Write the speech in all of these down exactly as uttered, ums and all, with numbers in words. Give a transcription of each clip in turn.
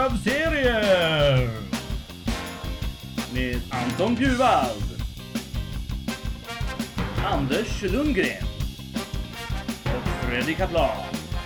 Hög av serier med Anton Bjurvald, Anders Lundgren och Fredrik Kaplan.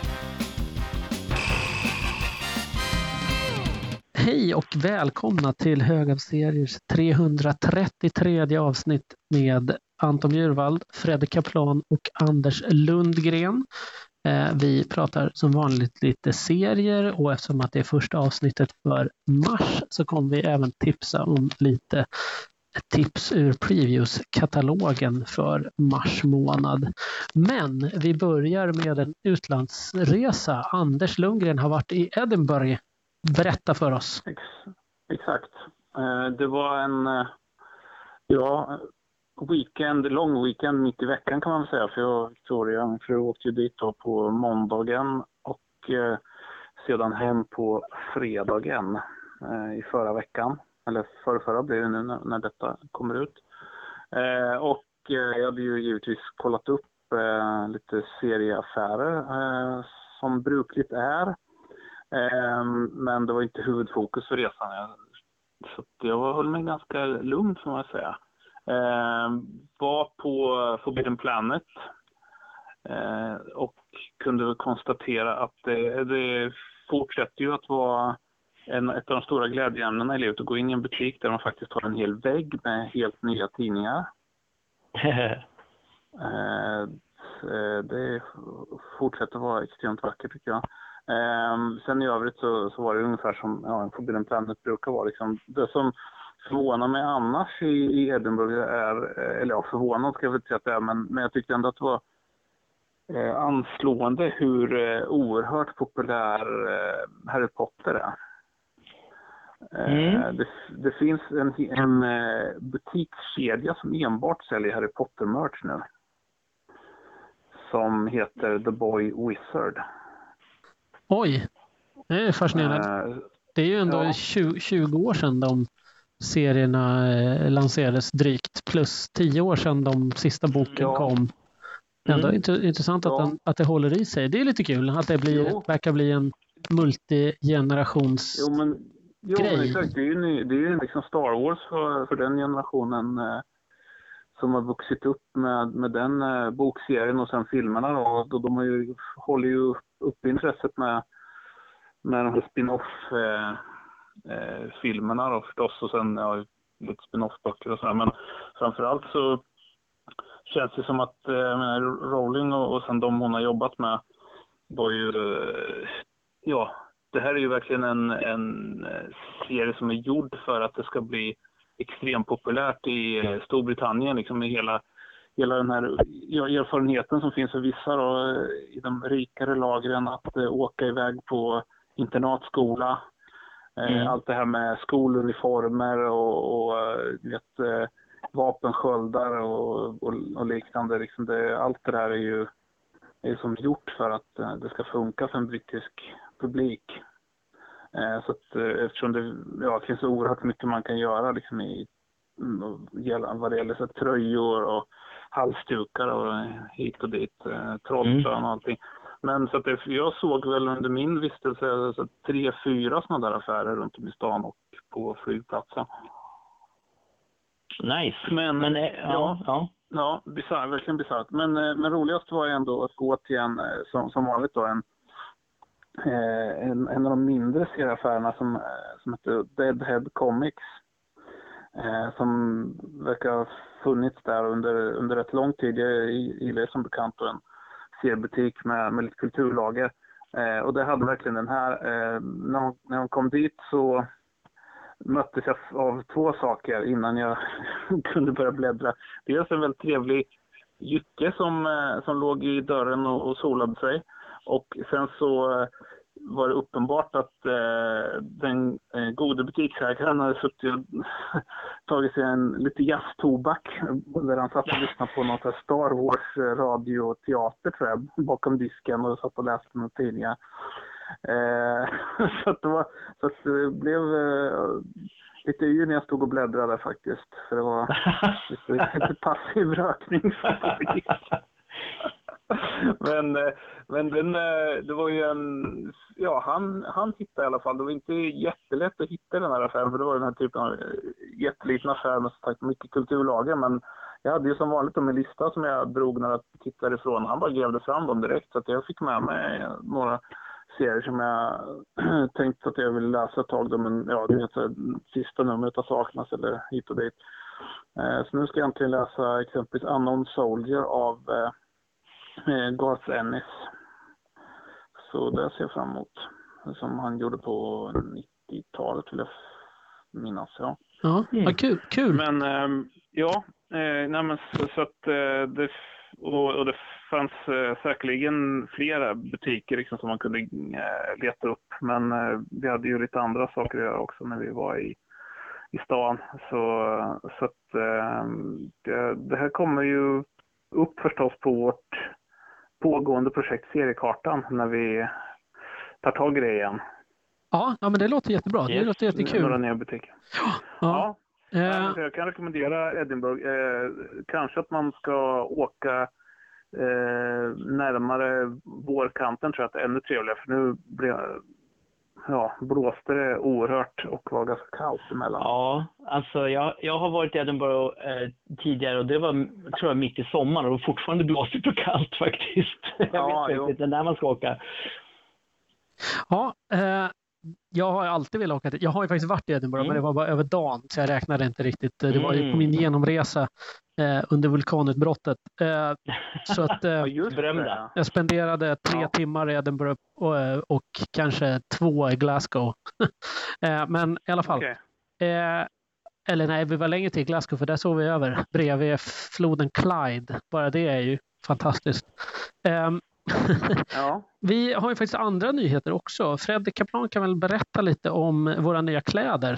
Hej och välkomna till Hög av seriers trehundratrettiotredje avsnitt med Anton Bjurvald, Fredrik Kaplan och Anders Lundgren. Vi pratar som vanligt lite serier, och eftersom att det är första avsnittet för mars så kommer vi även tipsa om lite tips ur previews-katalogen för mars månad. Men vi börjar med en utlandsresa. Anders Lundgren har varit i Edinburgh. Berätta för oss. Exakt. Det var en ja, weekend, lång weekend mitt i veckan kan man väl säga. För jag och Victoria, min fru, åkte ju dit då på måndagen och eh, sedan hem på fredagen eh, i förra veckan. Eller förra, förra blir det nu när, när detta kommer ut. Eh, och eh, jag hade ju givetvis kollat upp eh, lite serieaffärer eh, som brukligt är. Eh, men det var inte huvudfokus för resan. Jag, så jag höll mig ganska lugn får man säga. Eh, var på Forbidden Planet eh, och kunde konstatera att det, det fortsätter ju att vara en, ett av de stora glädjeämnena i livet att gå in i en butik där man faktiskt har en hel vägg med helt nya tidningar. eh, det fortsätter vara extremt vackert tycker jag. Eh, sen i övrigt så, så var det ungefär som ja, en Forbidden Planet brukar vara. Liksom. Det som förvånar mig annars i, i Edinburgh är, eller ja, förvånad ska jag väl säga att det är, men, men jag tyckte ändå att det var eh, anslående hur eh, oerhört populär eh, Harry Potter är. Eh, mm. det, det finns en, en eh, butikskedja som enbart säljer Harry Potter-merch nu. Som heter The Boy Wizard. Oj, det är fascinerande. Eh, det är ju ändå ja. tjugo, tjugo år sedan de serierna eh, lanserades drygt, plus tio år sedan de sista boken ja. kom. Ändå mm. intressant att, ja. den, att det håller i sig. Det är lite kul att det blir, verkar bli en multigenerations jo, men, jo, grej. Men exakt, det är ju, det är ju liksom Star Wars för, för den generationen eh, som har vuxit upp med, med den eh, bokserien och sen filmerna då, och de har ju, håller ju upp intresset med, med de här spin-off eh, Eh, filmerna då förstås och sen ja, lite spin-off-böcker och sådär, men framförallt så känns det som att eh, jag menar, Rowling och, och sen de hon har jobbat med var ju eh, ja, det här är ju verkligen en, en serie som är gjord för att det ska bli extremt populärt i eh, Storbritannien liksom med hela, hela den här ja, erfarenheten som finns för vissa då, i de rikare lagren att eh, åka iväg på internatskola. Mm. Allt det här med skoluniformer och, och vet, vapensköldar och, och, och liknande. Liksom det, allt det där är ju är som gjort för att det ska funka för en brittisk publik. Så att, eftersom det ja, finns så oerhört mycket man kan göra liksom i, vad det gäller så tröjor och halsdukar och hit och dit, trollspön och allting. Men så att det, jag såg väl under min vistelse så tre, fyra sådana där affärer runt om i stan och på flygplatsen. Nice. Men, men ja, ja, ja. ja bizarr, verkligen bisarrt. Men, men roligast var ändå att gå till en, som, som vanligt då, en, en, en av de mindre serieaffärerna som, som heter Deadhead Comics. Som verkar ha funnits där under, under ett lång tid. Jag gillar det som bekant en seriebutik med, med lite kulturlager. Eh, och det hade verkligen den här. Eh, när, hon, när hon kom dit så möttes jag av två saker innan jag kunde börja bläddra. Dels en väldigt trevlig jycke som, eh, som låg i dörren och, och solade sig. Och sen så eh, var det uppenbart att eh, den eh, gode butiksägaren hade suttit och tagit sig en lite jazztobak där han satt och lyssnade på något här Star Wars radioteater tror jag, bakom disken och satt och läste några tidningar. Eh, så, att det var, så att det blev eh, lite yr när jag stod och bläddrade faktiskt. För det var lite, lite passiv rökning. Men men, men den, det var ju en, ja han, han hittade i alla fall, det var inte jättelätt att hitta den här affären, för det var den här typen av jätteliten affär med så sagt mycket kulturlager, men jag hade ju som vanligt en lista som jag drog när jag tittade ifrån, han bara grävde fram dem direkt, så att jag fick med mig några serier som jag tänkte att jag ville läsa ett tag, men ja, det heter sista numret har saknas eller hit och dit. Så nu ska jag egentligen läsa exempelvis Unknown Soldier av eh, Garth Ennis. Så det ser jag fram emot. Som han gjorde på nittiotalet vill jag minnas. Ja, ja mm. kul, kul. Men eh, ja, eh, nej, men så, så att eh, det, och, och det fanns eh, säkerligen flera butiker liksom, som man kunde eh, leta upp. Men eh, vi hade ju lite andra saker att göra också när vi var i i stan, så, så att eh, det, det här kommer ju upp förstås på vårt pågående projekt Seriekartan när vi tar tag i det igen. Ja, ja men det låter jättebra. Yes. Det låter jättekul. Några nya butiker. Ja. ja. ja. Jag kan rekommendera Edinburgh. Eh, kanske att man ska åka eh, närmare vårkanten, tror jag att det är ännu trevligare, för nu blir ja, blåste det oerhört och var ganska kallt emellan. Ja, alltså jag, jag har varit i Edinburgh eh, tidigare och det var, tror jag, mitt i sommaren och fortfarande blåsigt och kallt faktiskt. Jag ja, vet inte när man ska åka. Ja, eh, jag har alltid velat åka till. Jag har ju faktiskt varit i Edinburgh, mm. men det var bara över dagen så jag räknade inte riktigt. Det var ju på min genomresa eh, under vulkanutbrottet. Eh, så att eh, ja, jag spenderade tre ja. timmar i Edinburgh och, och kanske två i Glasgow. eh, men i alla fall. Okay. Eh, eller nej, vi var längre till Glasgow för där såg vi över bredvid floden Clyde. Bara det är ju fantastiskt. Eh, ja. Vi har ju faktiskt andra nyheter också. Fredrik Kaplan kan väl berätta lite om våra nya kläder?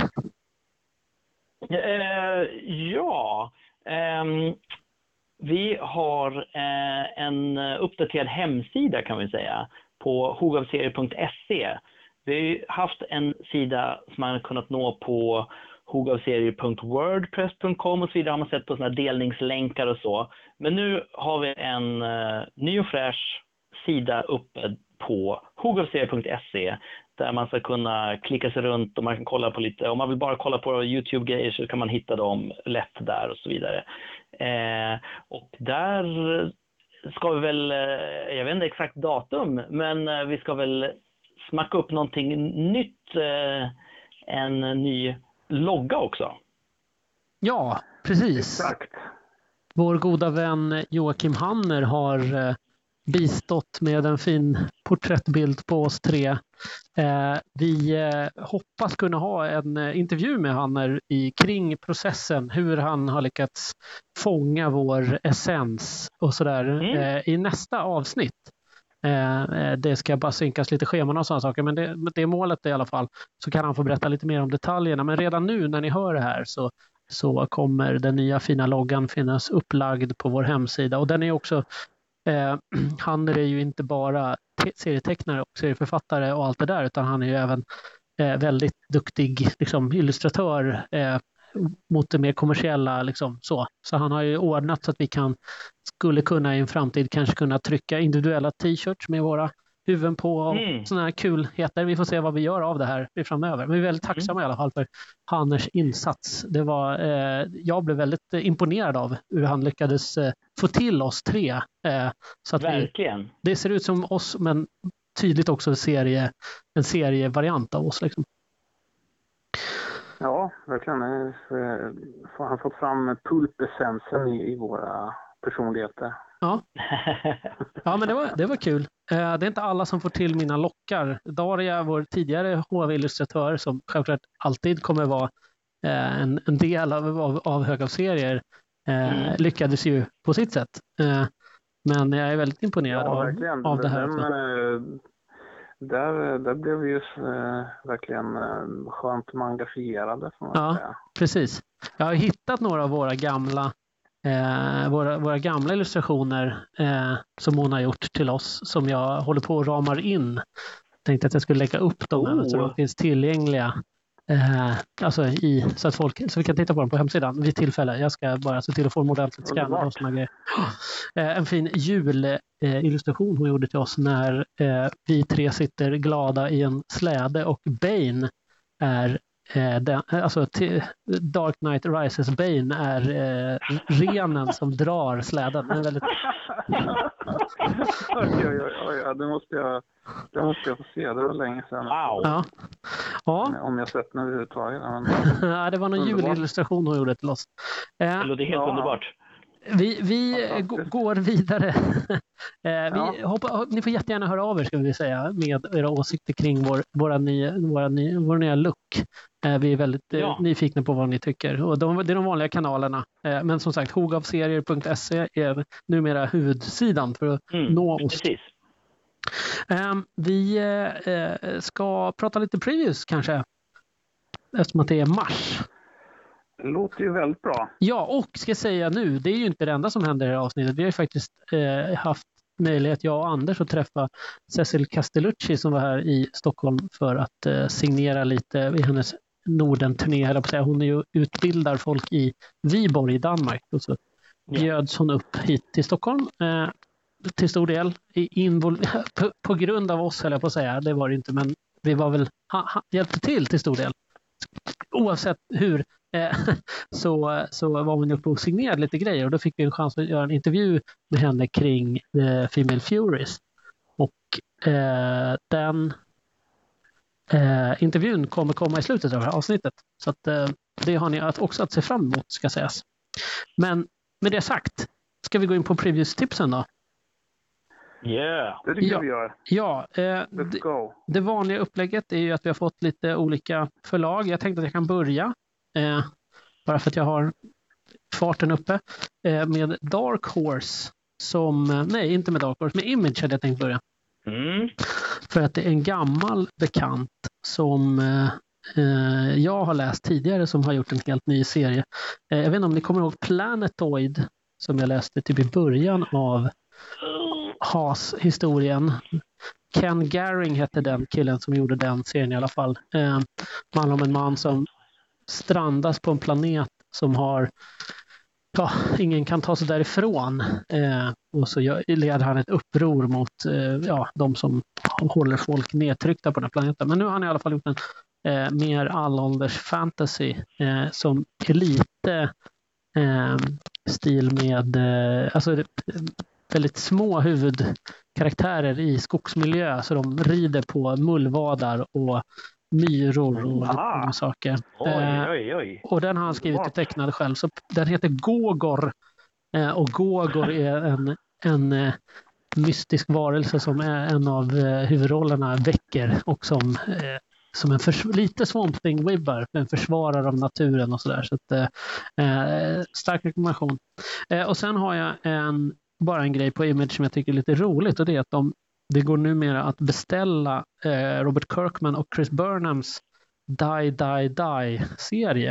Uh, ja, um, vi har uh, en uppdaterad hemsida kan vi säga på hogavserier punkt se. Vi har haft en sida som man har kunnat nå på hogavserier punkt wordpress punkt com och så vidare, har man sett på såna delningslänkar och så. Men nu har vi en uh, ny och fräsch sida uppe på hogavserier punkt se där man ska kunna klicka sig runt och man kan kolla på lite, om man vill bara kolla på YouTube-grejer så kan man hitta dem lätt där och så vidare. Eh, och där ska vi väl, jag vet inte exakt datum, men vi ska väl smacka upp någonting nytt, eh, en ny logga också. Ja, precis. Exakt. Vår goda vän Joakim Hanner har eh, bistått med en fin porträttbild på oss tre. Eh, vi eh, hoppas kunna ha en eh, intervju med Hanner i, kring processen, hur han har lyckats fånga vår essens och sådär mm. eh, i nästa avsnitt. Eh, det ska bara synkas lite scheman och sådana saker, men det, det är målet i alla fall. Så kan han få berätta lite mer om detaljerna. Men redan nu när ni hör det här så, så kommer den nya fina loggan finnas upplagd på vår hemsida. Och den är också Eh, han är ju inte bara te- serietecknare och serieförfattare och allt det där, utan han är ju även eh, väldigt duktig liksom, illustratör eh, mot det mer kommersiella liksom, så. Så han har ju ordnat så att vi kan skulle kunna i en framtid kanske kunna trycka individuella t-shirts med våra huvuden på och mm. sådana här kulheter. Vi får se vad vi gör av det här framöver. Men vi är väldigt tacksamma mm. i alla fall för Hanners insats. Det var, eh, jag blev väldigt eh, imponerad av hur han lyckades eh, få till oss tre. Eh, så att Verkligen. Vi, det ser ut som oss, men tydligt också en, serie, en serievariant av oss. Liksom. Ja, verkligen. Han har fått fram pulpessensen i, i våra personligheter. Ja, ja men det var, det var kul. Det är inte alla som får till mina lockar. Daria, vår tidigare H V-illustratör, som självklart alltid kommer vara en, en del av, av, av högavserier, mm. lyckades ju på sitt sätt. Men jag är väldigt imponerad ja, av, av det här. Den, där, där blev vi ju äh, verkligen äh, skönt engagerade. Ja, säga. Precis. Jag har hittat några av våra gamla Eh, våra, våra gamla illustrationer eh, som hon har gjort till oss, som jag håller på att ramar in. Tänkte att jag skulle lägga upp dem oh. så de finns tillgängliga Eh, alltså i, så att folk så vi kan titta på den på hemsidan vid tillfälle. Jag ska bara se till att få en ordentligt scanna och såna grejer. Eh, en fin julillustration hon gjorde till oss när eh, vi tre sitter glada i en släde och Bane är eh, den, alltså till, Dark Knight Rises Bane är eh, renen som drar släden. Den är väldigt... oj, oj, oj, oj, det måste jag det måste jag få se, det var länge sedan. Wow. Ja. Ja. Om jag sett den överhuvudtaget. Men... ja, det var någon Underbart. julillustration hon gjorde till oss. Eh, Det låter helt Ja. underbart. vi vi g- går vidare. eh, vi Ja. hoppa, ni får jättegärna höra av er ska vi säga med era åsikter kring vår, våra nya, våra nya, vår nya look. Eh, vi är väldigt eh, Ja. nyfikna på vad ni tycker. Och de, det är de vanliga kanalerna. Eh, men som sagt, hogavserier punkt se är numera huvudsidan för att Mm, nå oss. precis. Ehm, vi eh, eh, ska prata lite previews kanske. Eftersom att det är mars. Det låter ju väldigt bra. Ja, och ska jag säga nu, det är ju inte det enda som händer i det här avsnittet. Vi har ju faktiskt eh, haft möjlighet, jag och Anders, att träffa Cecil Castellucci som var här i Stockholm för att eh, signera lite i hennes Norden-turné. höll jag på att säga. Hon är ju utbildar folk i Viborg i Danmark. Och så Ja. bjöds hon upp hit till Stockholm. Eh, till stor del i invol- på, på grund av oss, höll jag på att säga. Det var det inte, men vi var väl ha, ha, hjälpte till till stor del. Oavsett hur eh, så, så var hon uppe och signerade lite grejer och då fick vi en chans att göra en intervju med henne kring eh, Female Furies. Och eh, den eh, intervjun kommer komma i slutet av det här avsnittet. Så att, eh, det har ni att också att se fram emot ska sägas. Men med det sagt, ska vi gå in på previous-tipsen då? Yeah. Det tycker Ja. jag vi gör. Ja, eh, Let's det, go. det vanliga upplägget är ju att vi har fått lite olika förlag. Jag tänkte att jag kan börja, eh, bara för att jag har farten uppe, eh, med Dark Horse som, eh, nej inte med Dark Horse, med Image hade jag tänkt börja. Mm. För att det är en gammal bekant som eh, eh, jag har läst tidigare som har gjort en helt ny serie. Eh, jag vet inte om ni kommer ihåg Planetoid som jag läste typ i början av Has-historien. Ken Garing hette den killen som gjorde den serien i alla fall. Eh, det handlar om en man som strandas på en planet som har ja, ingen kan ta sig därifrån. Eh, och så gör, leder han ett uppror mot eh, ja, de som håller folk nedtryckta på den här planeten. Men nu har han i alla fall gjort en eh, mer allålders fantasy eh, som är lite eh, stil med eh, alltså det, väldigt små huvudkaraktärer i skogsmiljö så de rider på mullvadar och myror och Aha. lite saker. Oj, Eh, oj, oj. och den har han skrivit och tecknat själv. Så den heter Gogor. Eh, och Gogor är en, en eh, mystisk varelse som är en av eh, huvudrollerna väcker och som, eh, som en förs- lite Swamp Thing-vibbar, en försvarare av naturen och sådär. Så att, eh, stark rekommendation. Eh, och sen har jag en, bara en grej på Image som jag tycker är lite roligt och det är att de, det går numera att beställa eh, Robert Kirkman och Chris Burnhams Die, Die, Die-serie.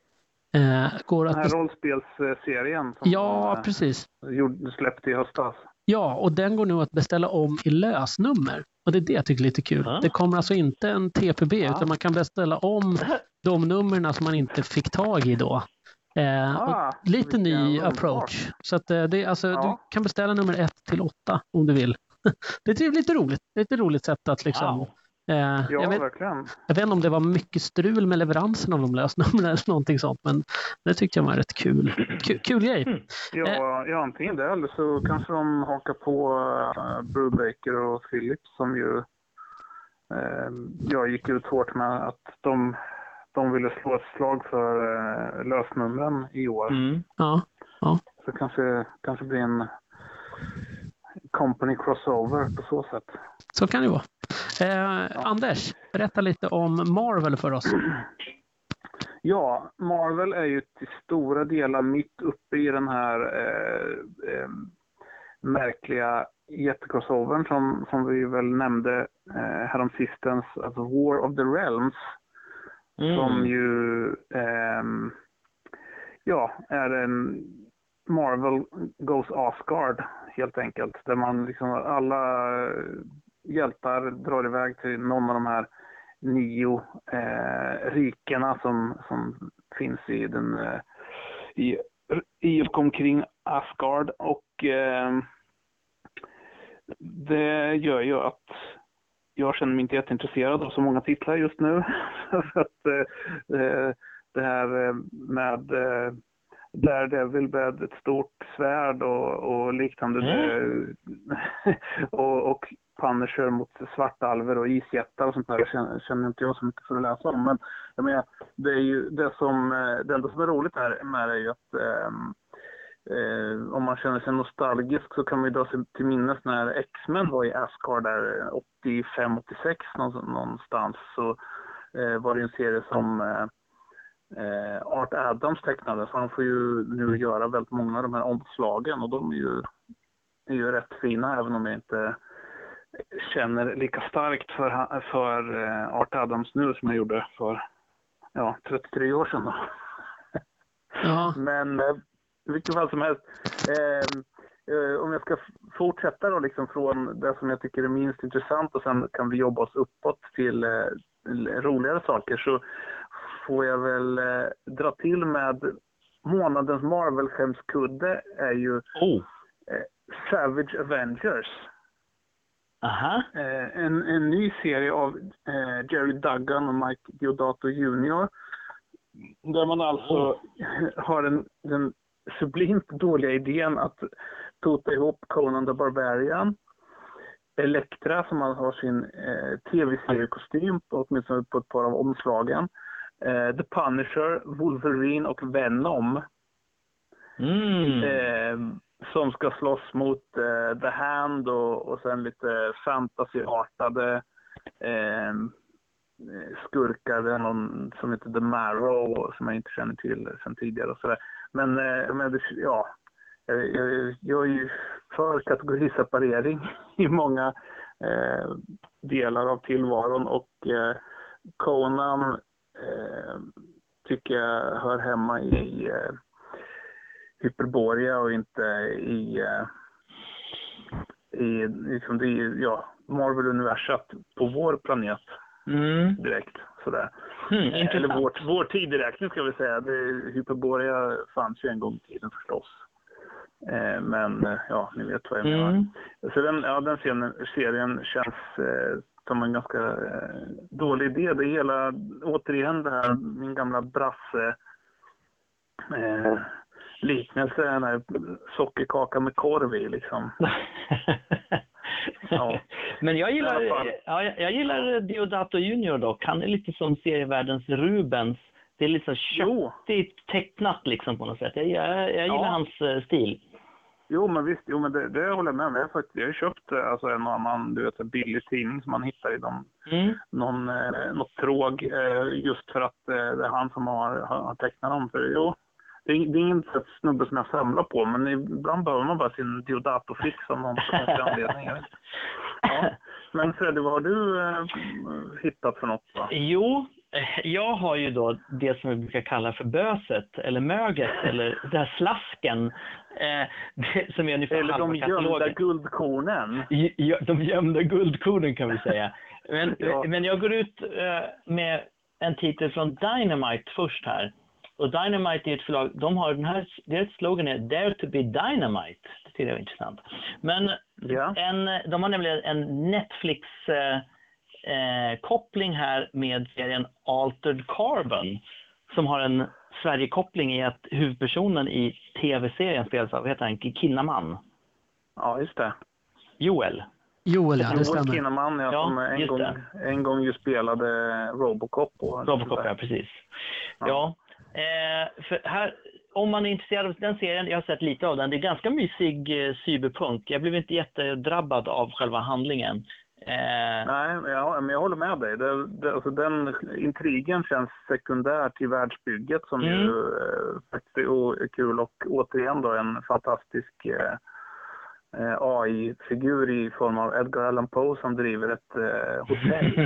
Eh, går Den att här bes- rollspelsserien som ja, de, precis. eh, gjorde, släppte i höstas. Ja, och den går nu att beställa om i lösnummer. Och det är det jag tycker är lite kul. Ah. Det kommer alltså inte en T P B Ah. utan man kan beställa om de nummerna som man inte fick tag i då. Eh, Ah, och lite ny vilken underbart. approach. Så att, eh, det, är alltså, Ja. du kan beställa nummer ett till åtta om du vill. Det är lite roligt. Det är ett roligt sätt att liksom... Wow. Eh, Ja, jag, vet, verkligen. jag vet inte om det var mycket strul med leveransen av de lösnumren eller någonting sånt, men det tyckte jag var rätt kul. Kul, kul grej. Mm. Ja, ja, antingen det eller så kanske de hakar på uh, Brubaker och Philips som ju uh, jag gick ut hårt med att de, de ville slå ett slag för uh, lösnumren i år. Mm. Ja, Så kanske, kanske blir en company crossover på så sätt. så kan det vara. Eh, Anders, berätta lite om Marvel för oss. Ja, Marvel är ju till stora delar mitt uppe i den här eh, eh, märkliga jättecrossovern som, som vi väl nämnde eh, häromsistens, alltså War of the Realms, Mm. som ju ehm, ja, är en Marvel Goes Asgard helt enkelt, där man liksom alla hjältar drar iväg till någon av de här nio eh, rikena som, som finns i den eh, i, i och omkring Asgard, och eh, det gör ju att jag känner mig inte jätteintresserad av så många titlar just nu. För att eh, det här med eh, Daredevil med ett stort svärd och, och liknande mm. och, och Punisher mot svartalver och isjättar och sånt där känner, känner inte jag så mycket för att läsa om. Men jag menar, det är ju det som det enda som är roligt här med det är ju att eh, eh, om man känner sig nostalgisk så kan man ju dra sig till minnes när X-Men var i Asgard där åttiofem åttiosex någonstans, så eh, var det en serie som eh, Eh, Art Adams tecknade, så han får ju nu göra väldigt många av de här omslagen, och de är ju, är ju rätt fina, även om jag inte känner lika starkt för, för eh, Art Adams nu som jag gjorde för ja, trettiotre år sedan då. Ja. Men eh, i vilket fall som helst, eh, eh, om jag ska fortsätta då liksom från det som jag tycker är minst intressant, och sen kan vi jobba oss uppåt till eh, roligare saker, så får jag väl eh, dra till med månadens Marvel-skämskudde är ju oh. eh, Savage Avengers. Aha. Eh, en, en ny serie av eh, Jerry Duggan och Mike Deodato junior Där man alltså oh. har en, den sublimt dåliga idén att tota ihop Conan the Barbarian, Elektra som har sin eh, tv-seriekostym på, åtminstone på ett par av omslagen, Uh, The Punisher, Wolverine och Venom mm. uh, som ska slåss mot uh, The Hand och, och sen lite fantasyartade uh, skurkar. Det är någon som heter The Marrow som jag inte känner till sen tidigare och sådär. Men, uh, men ja, jag, jag, jag är ju för kategoriseparering i många uh, delar av tillvaron, och uh, Conan Eh, tycker jag hör hemma i eh, Hyperborea och inte i, eh, i liksom det, ja, Marvel-universat på vår planet mm. direkt. Sådär. Mm, eh, eller vår, vår tideräkning ska vi säga. Det, Hyperborea fanns ju en gång i tiden förstås. Eh, men eh, ja, ni vet vad jag menar. Mm. Så den, ja, den serien, serien känns eh, som en ganska eh, dålig idé. Det hela, återigen det här, min gamla brasse eh, liknelse, den här sockerkaka med korv i liksom. Ja. Men jag gillar, ja, jag gillar Deodato junior dock. Han är lite som serievärldens Rubens. Det är lite köttigt tecknat liksom på något sätt. Jag, jag, jag gillar ja. hans stil. Jo, men visst, jo, men det, det håller jag med om. Jag har faktiskt jag har köpt alltså, en annan, du vet, en billig tidning som man hittar i någon, mm. någon, eh, något tråg, eh, just för att eh, det är han som har, har tecknat dem. För, jo, det är, det är ingen snubbe som jag samlar på, men ibland behöver man bara sin Deodato-fix som någon konstig anledning. Ja. Men Freddy, vad har du eh, hittat för något? Va? Jo, jag har ju då det som vi brukar kalla för böset eller möget eller den här slasken eh, det, som är ungefär eller de gömda guldkornen. Ja, de gömda guldkornen kan vi säga. Men, ja. men jag går ut eh, med en titel från Dynamite först här. Och Dynamite är ett förlag, de har den här, deras slogan är Dare to be Dynamite. Det tycker jag är intressant. Men ja. en, de har nämligen en Netflix eh, Eh, koppling här med serien Altered Carbon som har en Sverige-koppling i att huvudpersonen i tv-serien spelas av, heter han, Kinnaman. Ja, just det. Joel. Joel, ja, det stämmer. Joel Kinnaman, ja, ja, som en gång, en gång ju spelade Robocop. Och Robocop, ja, precis. Ja, ja eh, för här, om man är intresserad av den serien, jag har sett lite av den, det är ganska mysig eh, cyberpunk. Jag blev inte jättedrabbad av själva handlingen. Eh... Nej, ja, men jag håller med dig. Det, det, alltså den intrigen känns sekundär till världsbygget som mm. ju eh, faktiskt är kul, och återigen då en fantastisk eh, A I-figur i form av Edgar Allan Poe som driver ett eh, hotell.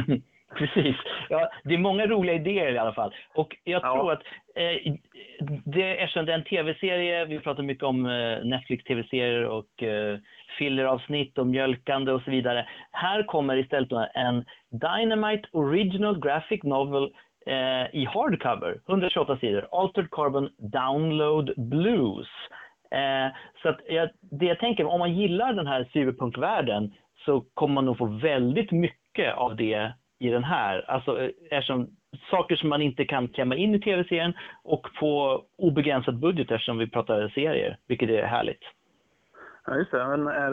Precis. Ja, det är många roliga idéer i alla fall. Och jag Ja. tror att eh, det, eftersom det är en tv-serie, vi pratar mycket om eh, Netflix-tv-serier och eh, filleravsnitt och mjölkande och så vidare. Här kommer istället då en Dynamite Original Graphic Novel eh, i hardcover, hundratjugoåtta sidor, Altered Carbon Download Blues. Eh, så att jag, det jag tänker, om man gillar den här cyberpunkvärlden så kommer man nog få väldigt mycket av det i den här. Alltså eftersom saker som man inte kan klämma in i tv-serien och på obegränsad budget eftersom vi pratar serier, vilket är härligt. Ja, just det. Men är,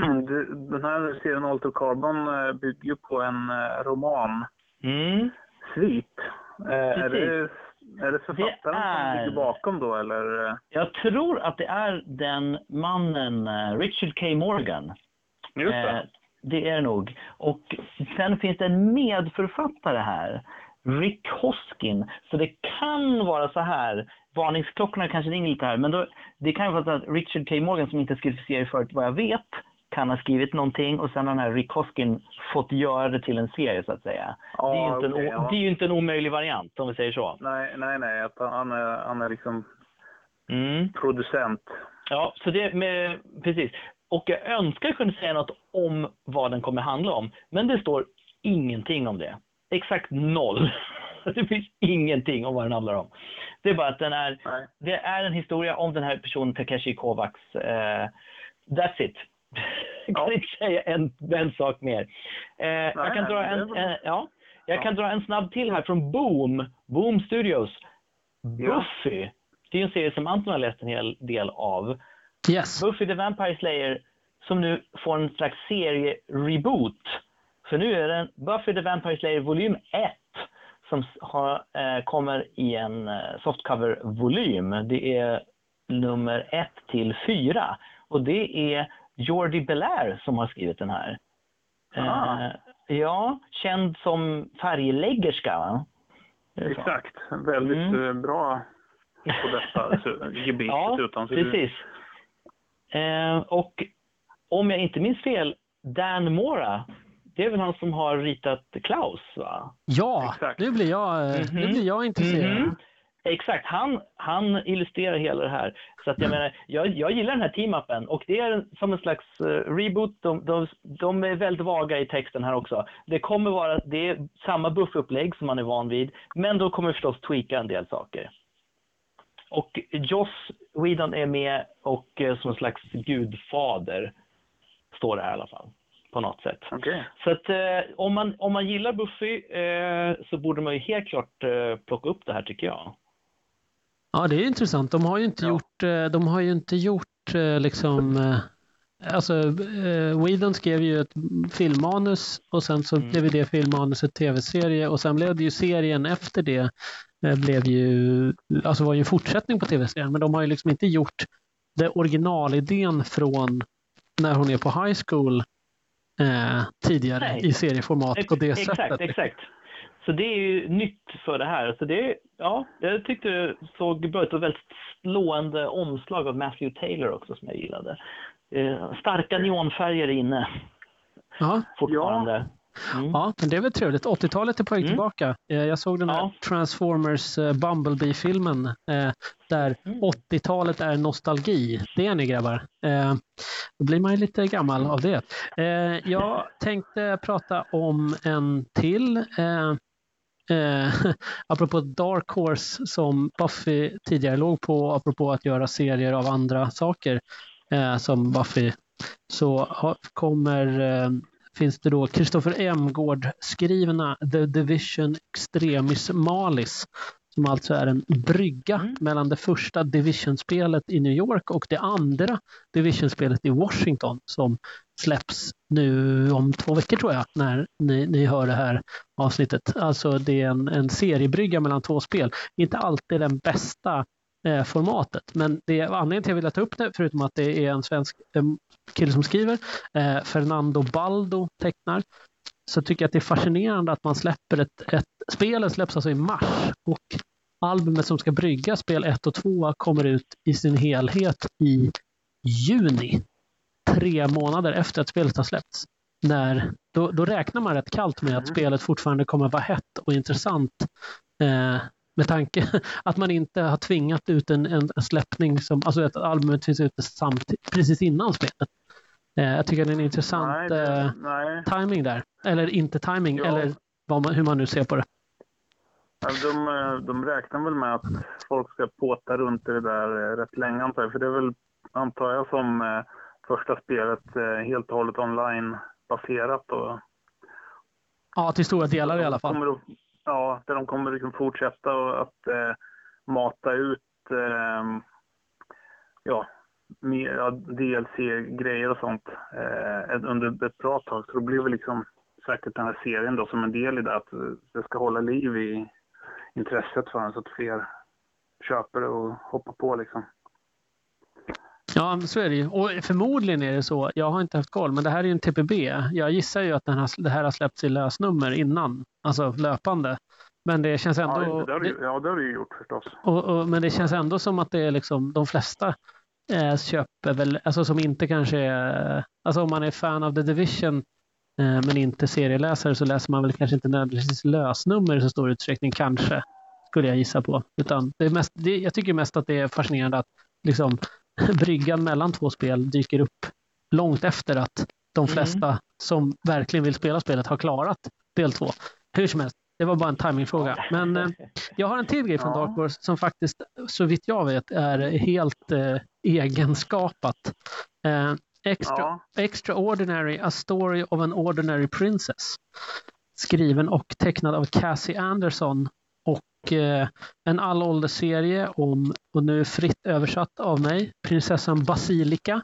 den här serien Altered Carbon bygger ju på en roman. Mm. Svit. Är det, är det författaren Det är... som ligger bakom då, eller? Jag tror att det är den mannen, Richard K. Morgan. Just det. Eh, det är nog. Och sen finns det en medförfattare här, Rick Hoskin. Så det kan vara så här, varningsklockorna kanske ringer lite här, men då, det kan ju vara så att Richard K. Morgan, som inte skrivit serie förut vad jag vet, kan ha skrivit någonting och sen har den här Rick Hoskin fått göra det till en serie så att säga. Ja, det, är ju inte okay, en, ja. det är ju inte en omöjlig variant om vi säger så. Nej, nej, nej. Att han, är, han är liksom Mm. producent. Ja, så det med, precis. Och jag önskar kunna säga något om vad den kommer handla om. Men det står ingenting om det. Exakt noll. Det finns ingenting om vad den handlar om. Det är bara att den är, Nej. det är en historia om den här personen Takeshi Kovacs. Uh, that's it. Jag kan Ja. inte säga en, en sak mer. Uh, Nej, jag kan, dra det är en, bra. uh, ja, jag Ja. kan dra en snabb till här från Boom. Boom Studios. Ja. Buffy. Det är en serie som Anton har läst en hel del av. Yes. Buffy the Vampire Slayer som nu får en slags serie-reboot. För nu är det Buffy the Vampire Slayer volym ett som har, eh, kommer i en eh, softcover-volym. Det är nummer ett till fyra. Och det är Jordi Belair som har skrivit den här. Ah. Eh, ja, känd som färgläggerska, va? Det är så. Exakt. Väldigt Mm. eh, bra på detta gebit. Ja, utan, så precis. Eh, och om jag inte minns fel, Dan Mora, det är väl han som har ritat Klaus, va? Ja, Exakt. nu blir jag, eh, nu Mhm. blir jag intresserad. Mhm. Exakt, han, han illustrerar hela det här. Så att jag menar, jag, jag gillar den här team-upen och det är en, som en slags uh, reboot. De, de, de är väldigt vaga i texten här också. Det kommer vara, det är samma buffupplägg som man är van vid, men då kommer vi förstås tweaka en del saker. Och Joss Whedon är med och uh, som en slags gudfader står det här i alla fall. På något sätt. Okej. Så att eh, om, man, om man gillar Buffy eh, så borde man ju helt klart eh, plocka upp det här tycker jag. Ja, det är intressant. De har ju inte Ja. gjort, eh, de har ju inte gjort eh, liksom, eh, alltså eh, Whedon skrev ju ett filmmanus och sen så Mm. blev det filmmanuset tv-serie och sen blev det ju serien efter det eh, blev ju, alltså var ju en fortsättning på tv-serien, men de har ju liksom inte gjort det originalidén från när hon är på high school eh, tidigare Nej. i serieformat på det Ex- sättet. Exakt, exakt. Så det är ju nytt för det här. Så det, ja, jag tyckte det såg bra ut och väldigt slående omslag av Matthew Taylor också som jag gillade. Eh, starka neonfärger inne Ja. fortfarande. Mm. Ja, men det är väl trevligt. åttiotalet är på väg Mm. tillbaka. Eh, Jag såg den här Ja. Transformers eh, Bumblebee-filmen eh, där Mm. åttiotalet är nostalgi. Det är ni grabbar. Eh, Då blir man ju lite gammal av det. Eh, Jag tänkte prata om en till. Eh, eh, apropå Dark Horse som Buffy tidigare låg på, apropå att göra serier av andra saker eh, som Buffy, så har, kommer eh, finns det då Christopher Emgård skrivna The Division Extremis Malis, som alltså är en brygga Mm. mellan det första Division-spelet i New York och det andra Division-spelet i Washington som släpps nu om två veckor tror jag, när ni, ni hör det här avsnittet. Alltså det är en, en seriebrygga mellan två spel. Inte alltid den bästa eh, formatet, men det är anledningen till att jag vill ta upp det, förutom att det är en svensk eh, kille som skriver, eh, Fernando Baldo tecknar, så tycker jag att det är fascinerande att man släpper ett, ett spelet släpps alltså i mars och albumet som ska brygga spel ett och två kommer ut i sin helhet i juni. Tre månader efter att spelet har släppts. När då, då räknar man rätt kallt med att spelet fortfarande kommer vara hett och intressant eh, med tanke att man inte har tvingat ut en, en, en släppning som, alltså att albumet finns ute samtidigt, precis innan spelet. Eh, jag tycker det är en intressant Nej, det, eh, nej. timing där. Eller inte timing, Ja. eller vad man, hur man nu ser på det. Ja, de, de räknar väl med att folk ska påta runt i det där eh, rätt länge, antar jag. För det är väl, antar jag, som eh, första spelet eh, helt och hållet online-baserat. Och, Ja, till stora delar i alla fall. Kommer att, ja, där de kommer liksom fortsätta och att eh, mata ut eh, ja, med, ja, D L C-grejer och sånt eh, under ett bra tag. Så det blir väl liksom säkert den här serien då som en del i det, att det ska hålla liv i intresset för den så att fler köper det och hoppar på liksom. Ja, så är det ju. Och förmodligen är det så. Jag har inte haft koll, men det här är ju en T P B. Jag gissar ju att den här, det här har släppts i lösnummer innan, alltså löpande. Men det känns ändå... Ja, det har du, ja, det har du ju gjort förstås. Och, och, men det känns ändå som att det är liksom de flesta eh, köper väl, alltså som inte kanske är... Alltså om man är fan av The Division eh, men inte serieläsare, så läser man väl kanske inte nödvändigtvis lösnummer i så stor utsträckning, kanske, skulle jag gissa på. Utan det är mest, det, jag tycker mest att det är fascinerande att liksom bryggan mellan två spel dyker upp långt efter att de flesta mm. som verkligen vill spela spelet har klarat del två. Hur som helst, det var bara en timingfråga. Men eh, jag har en till grej från ja. Dark Horse som faktiskt, så vitt jag vet, är helt eh, egenskapat. Eh, extra, ja. Extraordinary, A Story of an Ordinary Princess. Skriven och tecknad av Cassie Anderson. Och eh, en allåldersserie om, och nu fritt översatt av mig, prinsessan Basilika.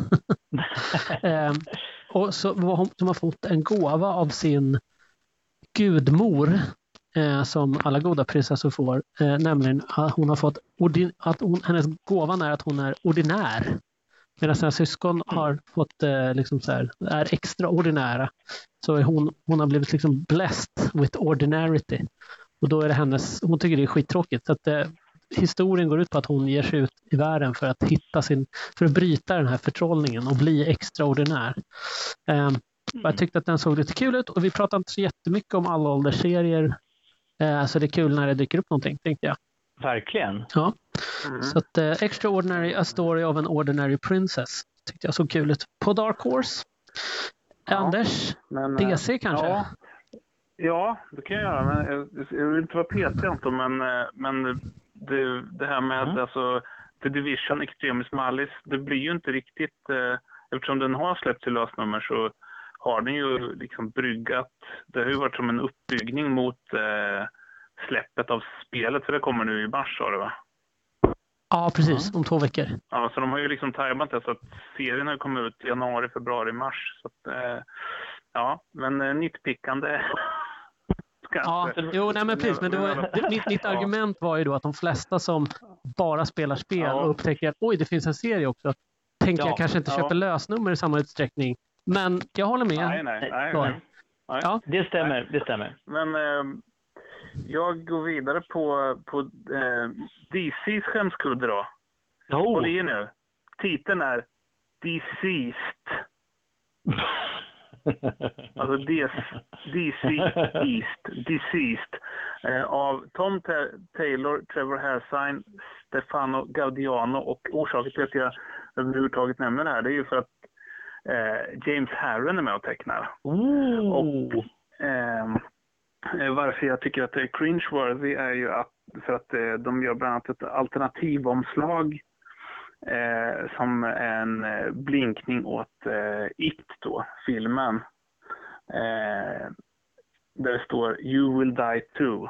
eh, och så var hon, som har fått en gåva av sin gudmor, eh, som alla goda prinsessor får, eh, nämligen att hon har fått ordin- att hon, hennes gåvan är att hon är ordinär, medan sina syskon har fått eh, liksom så här, är extraordinära, så är hon, hon har blivit liksom blessed with ordinarity, och då är det hennes, hon tycker det är skittråkigt, så att eh, historien går ut på att hon ger sig ut i världen för att hitta sin, för att bryta den här förtrollningen och bli extraordinär. eh, Mm. Jag tyckte att den såg lite kul ut, och vi pratar inte så jättemycket om alla åldersserier, eh, så det är kul när det dyker upp någonting, tänkte jag. Verkligen. Ja. Mm. Så att eh, Extraordinary, A Story of an Ordinary Princess tyckte jag såg kul ut. På Dark Horse. Ja, Anders, men, D C kanske? Ja, ja, det kan jag göra. Men jag, jag vill inte vara petig, men, men det, det här med mm. alltså, The Division, Extremis Malice, det blir ju inte riktigt... Eh, eftersom den har släppt till lösnummer så har den ju liksom bryggat. Det har ju varit som en uppbyggning mot eh, släppet av spelet, för det kommer nu i mars, sa det, va? Ja, precis. Om två veckor. Ja, så de har ju liksom tajmat det så att serien har kommit ut i januari, februari, mars. Så att, eh, ja, men eh, nyttpickande. Ja, jo, nej men precis. Men det var, det, mitt, mitt argument var ju då att de flesta som bara spelar spel ja. och upptäcker att oj, det finns en serie också, tänker ja, jag kanske inte ja. köpa lösnummer i samma utsträckning. Men jag håller med. Nej, nej, nej. nej. nej. Ja, det stämmer, nej. det stämmer. Men eh, jag går vidare på, på eh, D C:s skämskudde då. Oh. Och det är nu. Titeln är Deceased. Alltså D C East, Deceased. Eh, av Tom Ta- Taylor, Trevor Hairsine, Stefano Gaudiano, och orsaken till att jag överhuvudtaget nämner det här, det är ju för att eh, James Harren är med och tecknar. Oh. Och eh, varför jag tycker att det är cringe-worthy är ju att, för att eh, de gör bland annat ett alternativomslag eh, som en eh, blinkning åt eh, It då, filmen. Eh, där det står You will die too.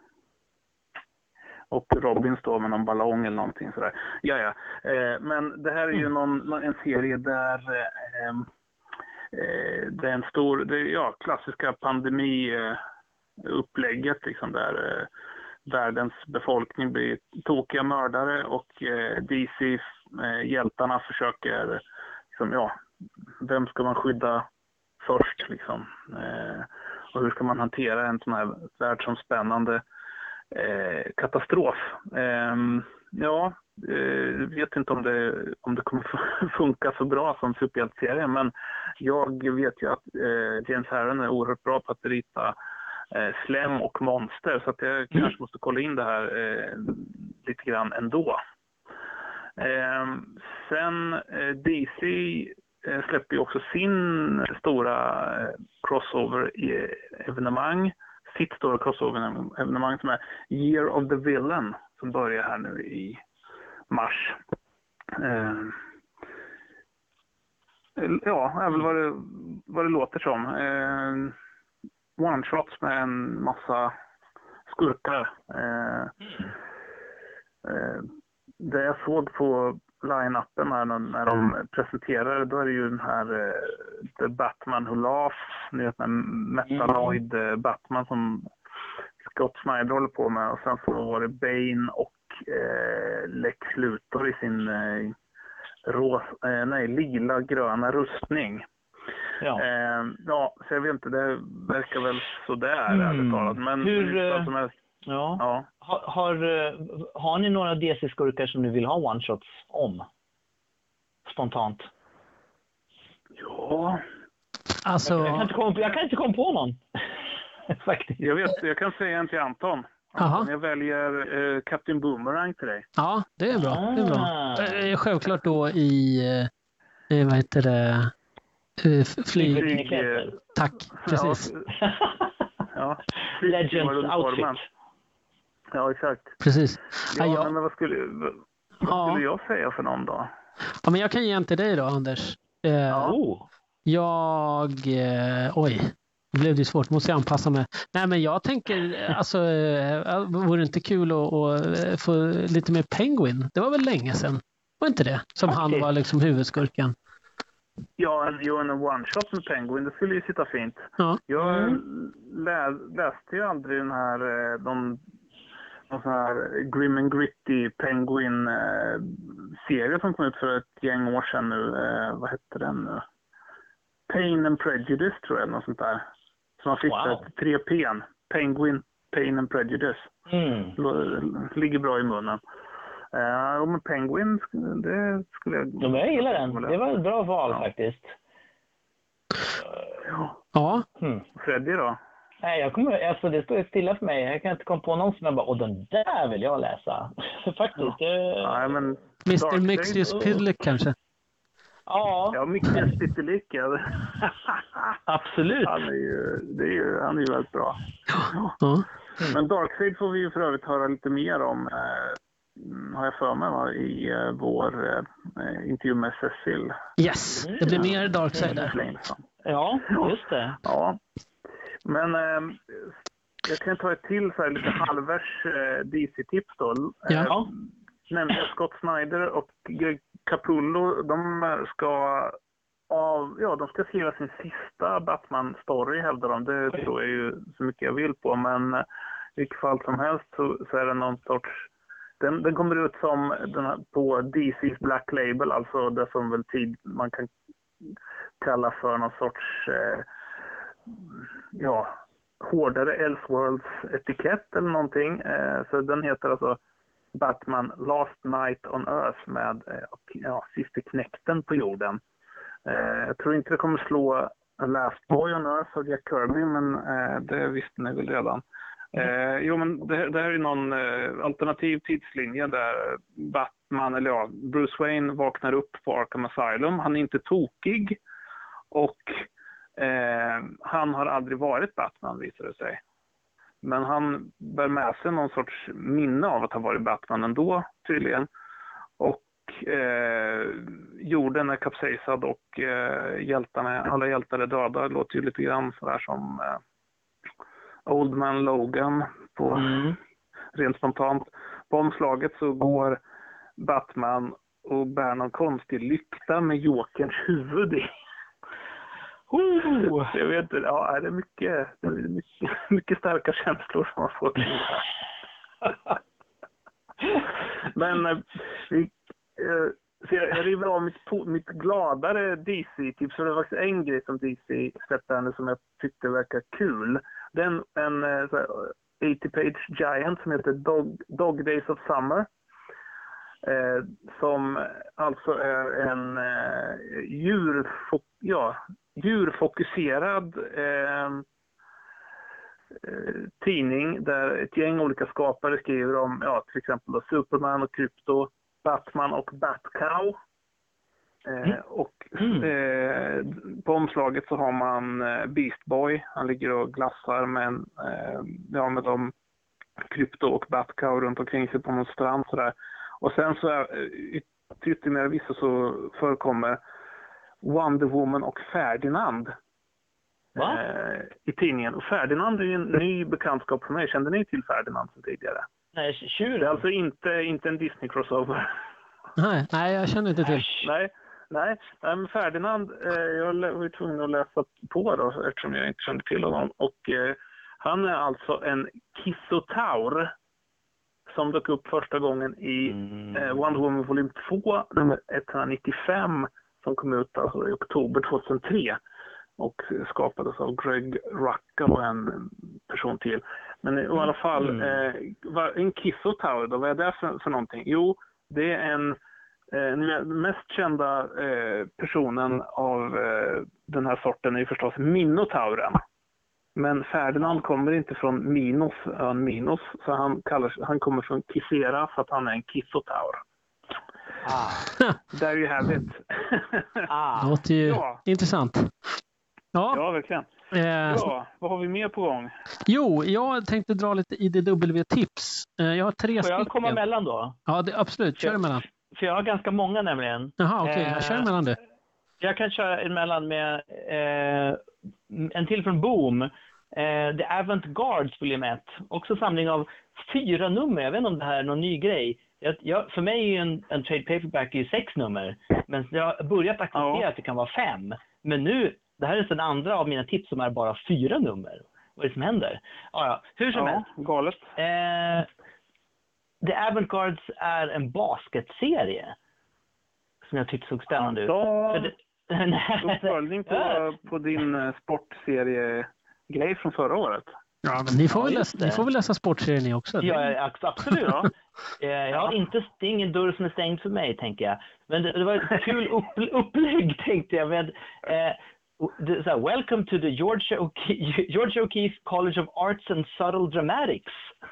Och Robin står med någon ballong eller någonting sådär. Ja, ja. Eh, men det här är ju någon, en serie där eh, eh, det är en stor, det är, ja, klassiska pandemiupplägget liksom, där eh, världens befolkning blir tokiga mördare, och eh, D C-hjältarna eh, försöker liksom, ja, vem ska man skydda först liksom? Eh, och hur ska man hantera en sån här världsomspännande Eh, katastrof. Eh, ja, eh, vet inte om det, om det kommer funka så bra som superhjälteserie, men jag vet ju att eh, James Harren är oerhört bra på att rita eh, slem och monster, så att jag mm. kanske måste kolla in det här eh, lite grann ändå. Eh, sen eh, D C eh, släpper ju också sin stora eh, crossover-evenemang, sitt stora crossover-evenemang som är Year of the Villain, som börjar här nu i mars. Eh, ja, är väl vad det, vad det låter som. Eh, one-shots med en massa skurkar. Eh, eh, det jag såg på line-upen här när, när de presenterade, då är det ju den här eh, The Batman Who Laughs, ni vet, den Metaloid eh, Batman som Scott Snyder håller på med, och sen så var det Bane och eh, Lex Luthor i sin eh, ros, eh, nej, lila gröna rustning. Ja. Eh, ja, så jag vet inte, det verkar väl sådär mm. ärligt talat. Men hur, som helst, ja. Ja. Har, har, har ni några D C-skurkar som ni vill ha one-shots om? Spontant. Ja. Alltså... Jag kan inte komma på, jag kan inte komma på någon. Faktiskt. Jag vet, jag kan säga en till Anton. Anton, jag väljer eh, Captain Boomerang till dig. Ja, det är bra. Det är bra. Eh, självklart då i, eh, vad heter det, eh, flyg... flyg eh, Tack, precis. Ja, ja. Legends outfit. Ja, exakt. Precis. Ja, ja, jag... men vad skulle, vad, vad ja. skulle jag säga för någon då? Ja, men jag kan ge en till dig då, Anders. Eh, ja. Jag... Eh, oj. Det blev det svårt, måste jag anpassa mig. Nej, men jag tänker, alltså, äh, vore det inte kul att, att få lite mer Penguin? Det var väl länge sedan, var inte det? Som okay. Han var liksom huvudskurken. Ja, en, en one-shot med Penguin, det skulle ju sitta fint. Ja. Jag mm. lä, läste ju aldrig den här, de, de sån här Grim and Gritty Penguin-serie eh, som kom ut för ett gäng år sedan nu. Eh, vad hette den nu? Pain and Prejudice tror jag, något sånt där. Som har fixat wow. tre P. Penguin, Pain and Prejudice. Mm. Ligger bra i munnen. Uh, och med Penguin, det skulle jag... De jag gillar den. Det var ett bra val ja. faktiskt. Ja. Ja. Mm. Freddy då? Nej, jag kommer, alltså det står stilla för mig. Jag kan inte komma på någon som jag bara, åh den där vill jag läsa. faktiskt. Ja. Det... Nej, men mister Mixius Pidlick kanske? Ja. Ja, Mixius Pidlick. Absolut. Han är ju, det är ju, han är ju väldigt bra. Ja. Mm. Men Darkseid får vi ju för övrigt höra lite mer om, eh, har jag för mig, va, i eh, vår eh, intervju med Cecil. Yes, det blir mer Darkseid där. Ja, just det. Ja, men eh, jag kan ta ett till så här lite halvvärs eh, D C-tips då. Ja. Eh, nämligen Scott Snyder och Greg Capullo, de ska av, ja, de ska skriva sin sista Batman-story, hävdar de. Det tror jag ju så mycket jag vill på, men i vilket fall som helst så, så är det någon sorts... Den, den kommer ut som den här, på D C:s Black Label, alltså det som väl tid man kan kalla för någon sorts eh, ja, hårdare Elseworlds-etikett eller någonting. Eh, så den heter alltså Batman Last Night on Earth med eh, ja, sista knäkten på jorden. Eh, jag tror inte det kommer slå Last Boy on Earth och Jack Kirby, men eh, det visste ni väl redan. Eh, jo, men det, det här är någon eh, alternativ tidslinje där Batman, eller ja, Bruce Wayne vaknar upp på Arkham Asylum. Han är inte tokig och eh, han har aldrig varit Batman, visar det sig. Men han bär med sig någon sorts minne av att ha varit Batman ändå, tydligen. Och Eh, jorden är kapsejsad och eh, hjältarna, alla hjältar är döda. Det låter ju lite grann sådär som eh, Old Man Logan på, mm. rent spontant. På omslaget så går Batman och bär någon konstig lykta med Jokerns huvud i. Oh, jag vet inte, ja, det är mycket, det är mycket, mycket starka känslor som man får till det här. Men eh, vi Så jag, jag river av mitt, mitt gladare D C-tips, för det var faktiskt en grej som D C släppte nu som jag tyckte verkar kul. Det är en, en åttio page giant som heter Dog, Dog Days of Summer. Eh, som alltså är en eh, djur, ja, djurfokuserad eh, tidning där ett gäng olika skapare skriver om ja, till exempel då Superman och Krypto, Batman och Batcow. Eh, Mm. och eh, på omslaget så har man eh, Beast Boy. Han ligger och glassar med, en, eh, ja, med de Krypto och Batcow runt omkring sig på någon strand sådär. Och sen så är till ytterligare vissa så förekommer Wonder Woman och Ferdinand eh, i tidningen. Och Ferdinand är ju en ny bekantskap för mig. Kände ni till Ferdinand sen tidigare? Nej, tjur. Det är alltså inte, inte en Disney-crossover. Nej, nej, jag känner inte till. Nej, nej, nej, men Ferdinand, eh, jag var ju tvungen att läsa på då eftersom jag inte kände till honom. Och eh, han är alltså en kissotaur som dök upp första gången i Mm. eh, Wonder Woman volym två, nummer etthundranittiofem, som kom ut alltså i oktober tjugohundratre och skapades av Greg Rucka och en person till. Men i alla fall, Mm. eh, vad- en kissotaur då, vad är det för, för någonting? Jo, det är en eh, den mest kända eh, personen av eh, den här sorten är ju förstås Minotauren. Men Ferdinand kommer inte från Minos, ön Minos, så han, kallar, han kommer från Kissera för att han är en kissotaur. Ah. There you have it. Ah. Det låter ju Ja. intressant. Ja, Ja, verkligen. eh, Ja, vad har vi mer på gång? jo, jag tänkte dra lite I D W-tips. Eh, jag har tre Får jag stycken. komma emellan då? Ja, det, absolut. Kör emellan. För jag har ganska många nämligen. Jaha, okej. Eh, Jag kör emellan du. Jag kan köra emellan med eh, en till från Boom. Eh, The Avant-Gardes volym ett. Också samling av fyra nummer. Jag vet inte om det här är någon ny grej. Jag, jag, för mig är ju en, en trade paperback i sex nummer. Men jag har börjat acceptera Ja. att det kan vara fem. Men nu, det här är den andra av mina tips som är bara fyra nummer. Vad är det som händer? Ah, ja, hur som Ja, helst. galet. Eh, The Avant-Gardes är en basketserie som jag tyckte såg spännande ut. Ja, För det, nej, uppföljning på, Ja. på din eh, sportserie-grej från förra året. Ja, men ni, får Ja, väl just läsa, det. ni får väl läsa sportserien ni också? Ja, ja, absolut. Ja. Eh, Jag har inte, det är ingen dörr som är stängd för mig, tänker jag. Men det, det var ett kul upp, upplägg, tänkte jag. Med, eh, det, så här, Welcome to the Georgia O'Keeffe, Georgia O'Keeffe College of Arts and Subtle Dramatics.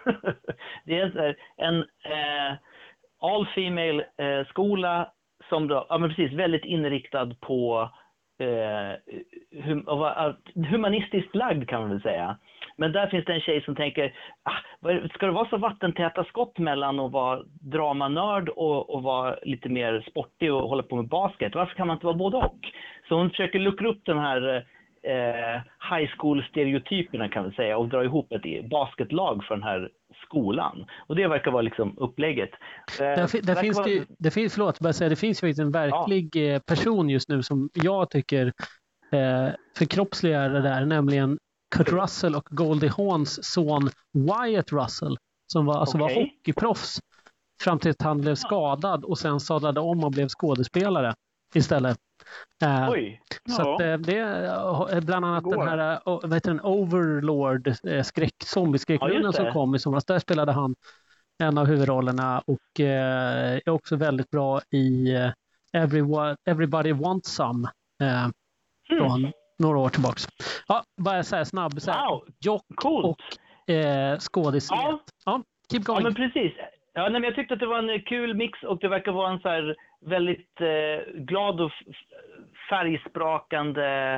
Det är så här, en eh, all-female eh, skola som då, ja men precis, väldigt inriktad på eh, hum, humanistiskt lagd kan man väl säga. Men där finns det en tjej som tänker, ah, vad- ska det vara så vattentäta skott mellan att vara dramanörd och, och vara lite mer sportig och hålla på med basket? Varför kan man inte vara både och? Så hon försöker luckra upp den här eh, high school-stereotyperna kan vi säga och dra ihop ett basketlag för den här skolan. Och det verkar vara liksom upplägget. Eh, Där, fi- där verkar finns vara- det, ju- det finns, förlåt, bara säga, det finns ju en verklig eh, person just nu som jag tycker eh, förkroppsligar det där, nämligen Kurt Russell och Goldie Hawns son Wyatt Russell som var, alltså var Okej. hockeyproffs fram till att han blev skadad och sen sadlade om och blev skådespelare istället. Eh, Oj. Så Ja. att, eh, det är bland annat Det går. den här eh, o- vad heter den, Overlord eh, skräck, Ja, zombieskräckfilmen just som det. kom i somras. Där spelade han en av huvudrollerna och eh, är också väldigt bra i eh, Everyone, Everybody Wants Some eh, från några år tillbaks. Ja, bara så här snabb så här, Wow, jock coolt. och eh, skådislet. Ja. Ja, keep Ja, going. men precis. Ja, nej, men jag tyckte att det var en kul mix och det verkar vara en så här väldigt eh, glad och f- färgsprakande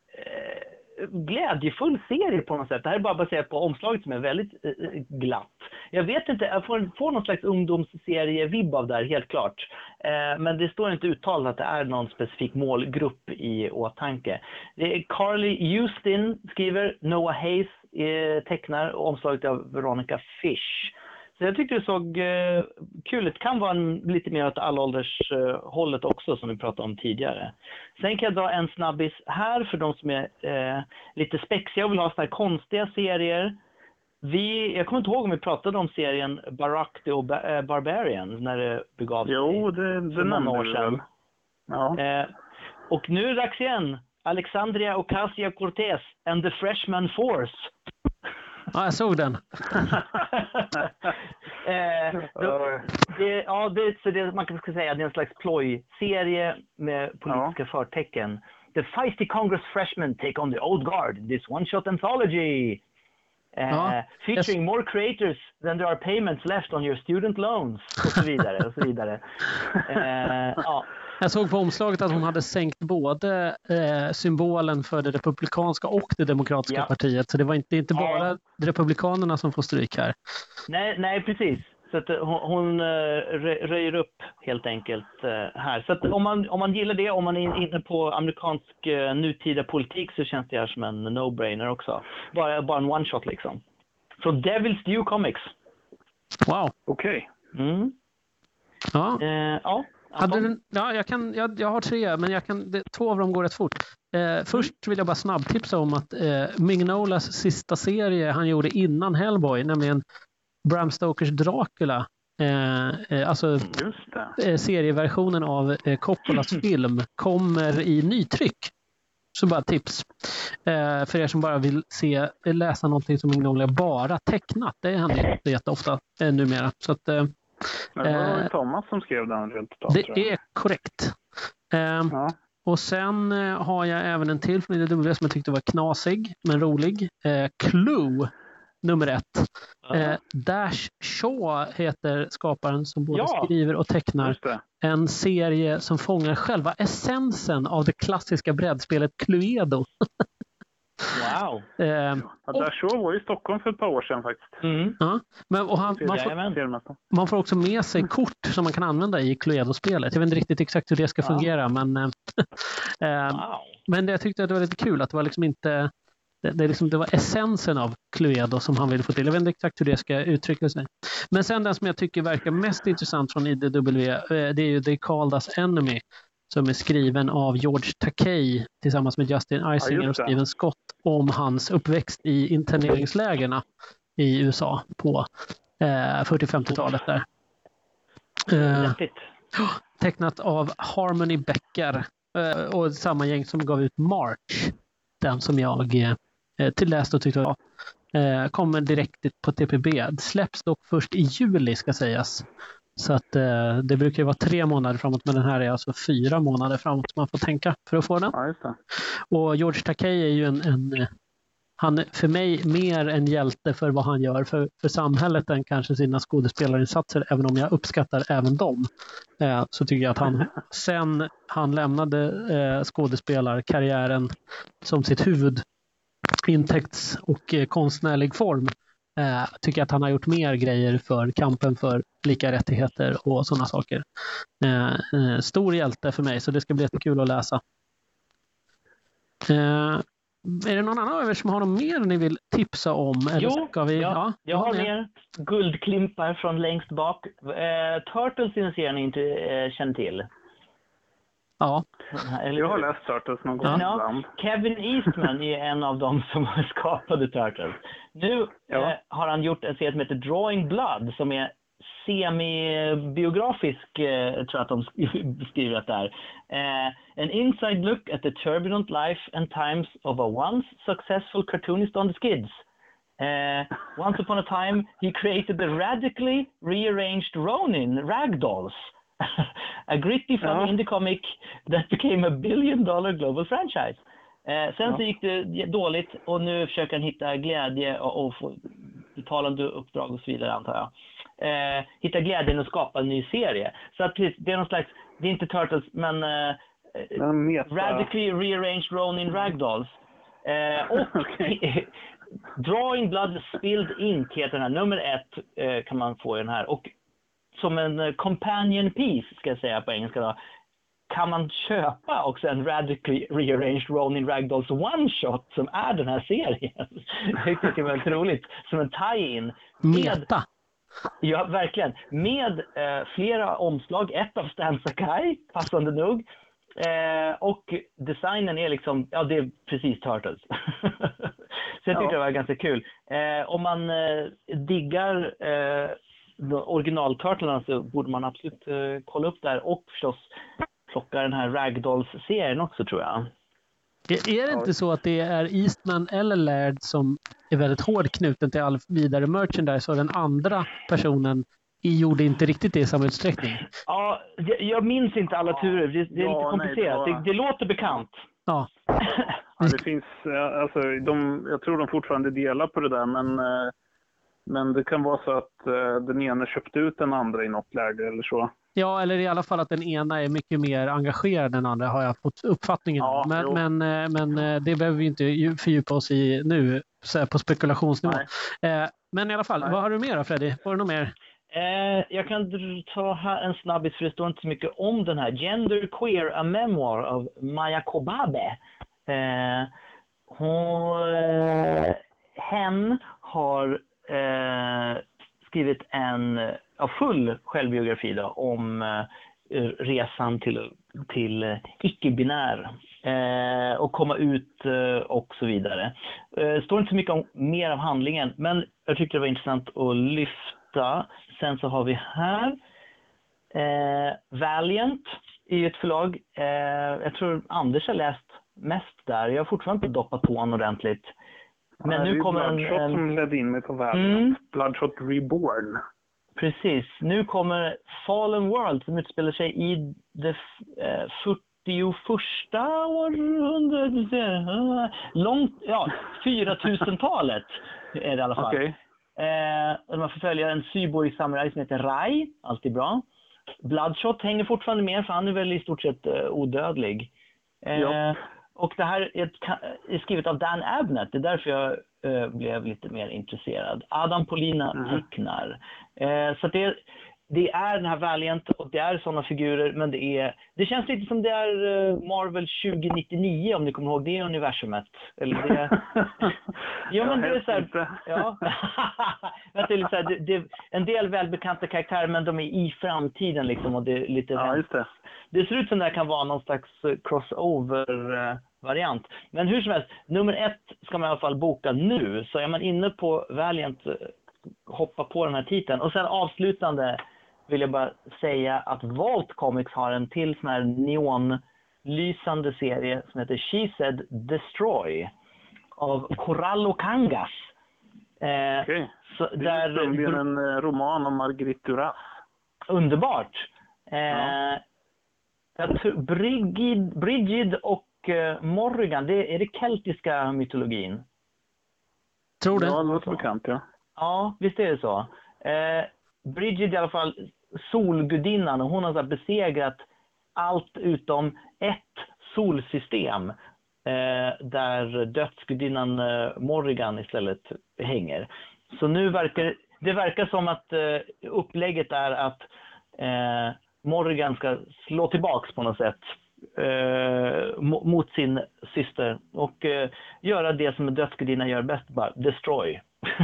eh, glädjefull serie på något sätt. Det här är bara baserat på omslaget som är väldigt eh, glatt. Jag vet inte, jag får, får någon slags ungdomsserie-vibb av där, helt klart. Eh, men det står inte uttalat att det är någon specifik målgrupp i åtanke. Det är Carly Houston skriver, Noah Hayes eh, tecknar och omslaget av Veronica Fish. Så jag tyckte det såg eh, kul ut. Det kan vara en, lite mer åt allålders eh, hållet också som vi pratade om tidigare. Sen kan jag dra en snabbis här för de som är eh, lite spexiga och vill ha såna här konstiga serier. Vi, jag kommer inte ihåg om vi pratade om serien Barack the Oba- eh, Barbarian när det begav sig Jo, det, det för många nämnde år du sedan. väl. Ja. Eh, och nu är det dags igen. Alexandria Ocasio-Cortez and the Freshman Force. Ja, jag såg den. eh, då, det, ja, det, så det, man kan säga att det är en slags plojserie med politiska förtecken. The feisty Congress freshmen take on the old guard. This one-shot anthology. Uh, ja, featuring jag... more creators than there are payments left on your student loans. Och så vidare. Och så vidare. Uh, ja. Jag såg på omslaget att hon hade sänkt både eh, symbolen för det republikanska och det demokratiska ja. partiet. Så det var inte, inte bara ja. republikanerna som får stryk här. Nej, nej precis. Så att hon, hon röjer upp helt enkelt här. Så att om man, om man gillar det, om man är inne på amerikansk nutida politik så känns det här som en no-brainer också. Bara, bara en one-shot liksom. Så Devil's Due Comics. Wow. Okej. Okay. Mm. Ja. Eh, ja. Hade du, ja, jag, kan, jag, jag har tre, men jag kan, det, två av dem går rätt fort. Eh, först vill jag bara snabbtipsa om att eh, Mignolas sista serie han gjorde innan Hellboy, nämligen Bram Stokers Dracula, eh, eh, alltså eh, serieversionen av eh, Coppolas film, kommer i nytryck. Så bara tips. Eh, för er som bara vill se, läsa någonting som Mignola bara tecknat. Det händer inte jätteofta eh, numera. Så att, eh, Men det var ju Thomas som skrev den rent utav, det är korrekt. Eh, ja. Och sen eh, har jag även en till från I D W som jag tyckte var knasig men rolig. Eh, Clue nummer ett. Uh-huh. Eh, Dash Shaw heter skaparen som både ja, skriver och tecknar en serie som fångar själva essensen av det klassiska brädspelet Cluedo. Wow. eh, ja, Dash Shaw var i Stockholm för ett par år sedan faktiskt. Mm. Ja, men, och han, man, får, man får också med sig kort som man kan använda i Cluedo-spelet. Jag vet inte riktigt exakt hur det ska fungera, ja. men, eh, wow. men jag tyckte att det var lite kul att det var liksom inte Det, det, liksom, det var essensen av Cluedo som han ville få till. Jag vet inte exakt hur det ska uttrycka sig. Men sen den som jag tycker verkar mest intressant från I D W, det är ju They Called Us Enemy, som är skriven av George Takei tillsammans med Justin Eisinger ja, och Steven Scott om hans uppväxt i interneringslägerna i U S A på eh, fyrtio-femtiotalet där. Eh, tecknat av Harmony Becker eh, och samma gäng som gav ut March. Den som jag eh, tillläste och tyckte var eh, kommer direkt på T P B. Det släpps dock först i juli ska sägas. Så att eh, det brukar ju vara tre månader framåt, men den här är alltså fyra månader framåt man får tänka för att få den. Ja, just det. Och George Takei är ju en, en han är för mig mer en hjälte för vad han gör för, för samhället än kanske sina skådespelarinsatser, även om jag uppskattar även dem. Eh, så tycker jag att han sen han lämnade eh, skådespelarkarriären som sitt huvudintäkts- och eh, konstnärlig form eh, tycker jag att han har gjort mer grejer för kampen för lika rättigheter och sådana saker. Eh, eh, stor hjälte för mig, så det ska bli jättekul att läsa. Eh, Är det någon annan av er som har något mer ni vill tipsa om? Eller jo, ska vi... ja, ja, jag har mer guldklimpar från längst bak. Eh, Turtles är en serie ni inte eh, känner till. Ja. Eller, jag har läst Turtles någon gång. Ja, Kevin Eastman är en av dem som skapade Turtles. Nu ja. eh, har han gjort en serie som heter Drawing Blood som är semi-biografisk, eh, tror jag att de skriver att det är. Eh, an inside look at the turbulent life and times of a once successful cartoonist on the skids. Eh, once upon a time, he created the radically rearranged Ronin ragdolls. A gritty, funny ja. indie comic that became a billion dollar global franchise. Eh, sen ja. så gick det dåligt och nu försöker han hitta glädje och, och få betalande uppdrag och så vidare, antar jag. Eh, hitta glädjen och skapa en ny serie. Så att det är någon slags, det är inte Turtles, men eh, radically rearranged Ronin ragdolls. Eh, och okay. Drawing Blood Spilled Ink heter den här. Nummer ett eh, kan man få i den här. Och som en uh, companion piece, ska jag säga på engelska då, kan man köpa också en radically rearranged Ronin Ragdolls one-shot som är den här serien. Jag tycker det är väldigt roligt. Som en tie-in. Meta! Ja, verkligen. Med eh, flera omslag. Ett av Stan Sakai, passande nog. Eh, och designen är liksom, ja det är precis Turtles. Så jag tycker ja. det var ganska kul. Eh, om man eh, diggar eh, originalturtlarna så borde man absolut eh, kolla upp där och förstås plocka den här Ragdolls-serien också, tror jag. Är det inte så att det är Eastman eller Laird som är väldigt hård knuten till all vidare merchandise och den andra personen gjorde inte riktigt det i samma utsträckning? Ja, jag, jag minns inte alla turer. Det, det är ja, lite komplicerat. Nej, det, var... det, det låter bekant. Ja. Ja, det finns, alltså, de, jag tror de fortfarande delar på det där, men, men det kan vara så att den ena köpte ut den andra i något läge eller så. Ja, eller i alla fall att den ena är mycket mer engagerad än den andra har jag fått uppfattningen om. Ja, men, men, men det behöver vi inte fördjupa oss i nu så här på spekulationsnivå. Eh, men i alla fall, Nej. Vad har du mer då, Freddy? Var det något mer? Eh, jag kan ta här en snabbis för det står inte så mycket om den här. Gender Queer, a memoir av Maya Kobabe. Eh, hon, eh, hen har eh, skrivit en ja, full självbiografi då, om eh, resan till, till icke-binär eh, och komma ut eh, och så vidare. Det eh, står inte så mycket om mer av handlingen, men jag tyckte det var intressant att lyfta. Sen så har vi här eh, Valiant i ett förlag. Eh, jag tror Anders har läst mest där. Jag har fortfarande inte doppat tån ordentligt. Men ja, nu kommer en... Bloodshot en... som ledde in mig på Valiant. Mm. Bloodshot Reborn. Precis. Nu kommer Fallen World som utspelar sig i det eh, fyrtioförsta århundradet. Långt, ja, fyratusentalet är det i alla fall. Okay. Eh, man får följa en cyborg-samurai som heter Rai. Alltid bra. Bloodshot hänger fortfarande med för han är väl i stort sett eh, odödlig. Eh, ja. Och det här är, ett, är skrivet av Dan Abnett. Det är därför jag eh, blev lite mer intresserad. Adam Polina mm. tecknar. Eh, så det, det är den här Valiant och det är sådana figurer. Men det är det känns lite som det är eh, Marvel tjugo nittionio om ni kommer ihåg det universumet. Eller det... ja, men det är så här... ja. det är lite så här, det, det, en del välbekanta karaktärer men de är i framtiden liksom. Och det är lite... Ja, just det. Det ser ut som det här kan vara någon slags crossover-variant. Men hur som helst, nummer ett ska man i alla fall boka nu. Så är man inne på Valiant, hoppa på den här titeln. Och sen avslutande vill jag bara säga att Vault Comics har en till sån här neonlysande serie som heter She Said Destroy av Corallo Kangas. Eh, okay. Så det är där, en roman om Marguerite Duras. Underbart. Eh, ja. Jag tror, Brigid, Brigid och uh, Morrigan, det är det keltiska mytologin. Tror det. Ja, det låter bekant, ja. Ja, visst är det så. Eh, Brigid i alla fall, solgudinnan, och hon har så här besegrat allt utom ett solsystem eh, där dödsgudinnan eh, Morrigan istället hänger. Så nu verkar det verkar som att eh, upplägget är att eh, Morrigan ska slå tillbaks på något sätt eh, mot sin syster och eh, göra det som en dödsgudinna gör bäst, bara destroy.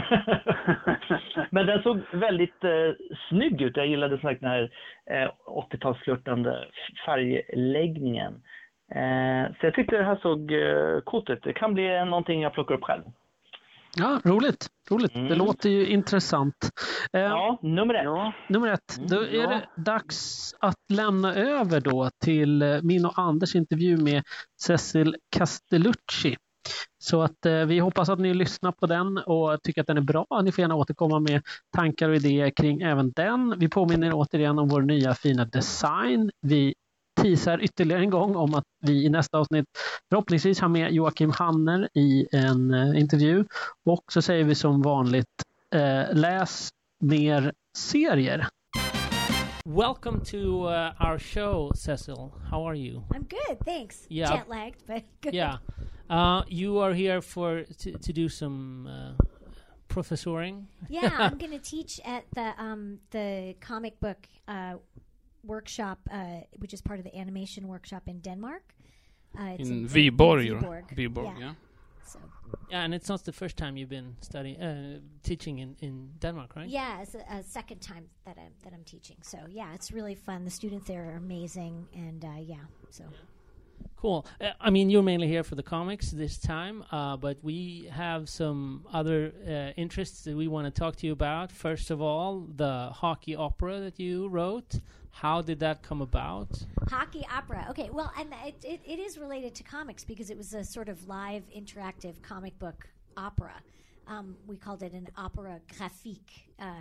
Men den såg väldigt eh, snygg ut. Jag gillade den här eh, åttiotalsflörtande färgläggningen. Eh, så jag tyckte det här såg eh, coolt ut. Det kan bli någonting jag plockar upp själv. Ja, roligt. roligt. Mm. Det låter ju intressant. Eh, ja, nummer ett. Ja. Nummer ett. Då är ja. det dags att lämna över då till min och Anders intervju med Cecil Castellucci. Så att eh, vi hoppas att ni lyssnar på den och tycker att den är bra. Ni får gärna återkomma med tankar och idéer kring även den. Vi påminner återigen om vår nya fina design. Vi teasar ytterligare en gång om att vi i nästa avsnitt förhoppningsvis har med Joakim Hanner i en eh, intervju. Och så säger vi som vanligt, eh, läs mer serier. Welcome to uh, our show, Cecil. How are you? I'm good, thanks. Yeah. Jet lagged, but good. Yeah. Uh, you are here for to, to do some uh, professoring. Yeah, I'm going to teach at the um, the comic book uh, workshop, uh, which is part of the animation workshop in Denmark. Uh, it's in, in Viborg. Viborg. Viborg, yeah. yeah. So. Yeah, and it's not the first time you've been studying, uh, teaching in, in Denmark, right? Yeah, it's a, a second time that I'm that I'm teaching. So yeah, it's really fun. The students there are amazing, and uh, yeah, so. Cool. Uh, I mean, you're mainly here for the comics this time, uh, but we have some other uh, interests that we want to talk to you about. First of all, the hockey opera that you wrote. How did that come about? Hockey opera. Okay, well, and it, it, it is related to comics because it was a sort of live, interactive comic book opera. Um, we called it an opera graphique. Uh,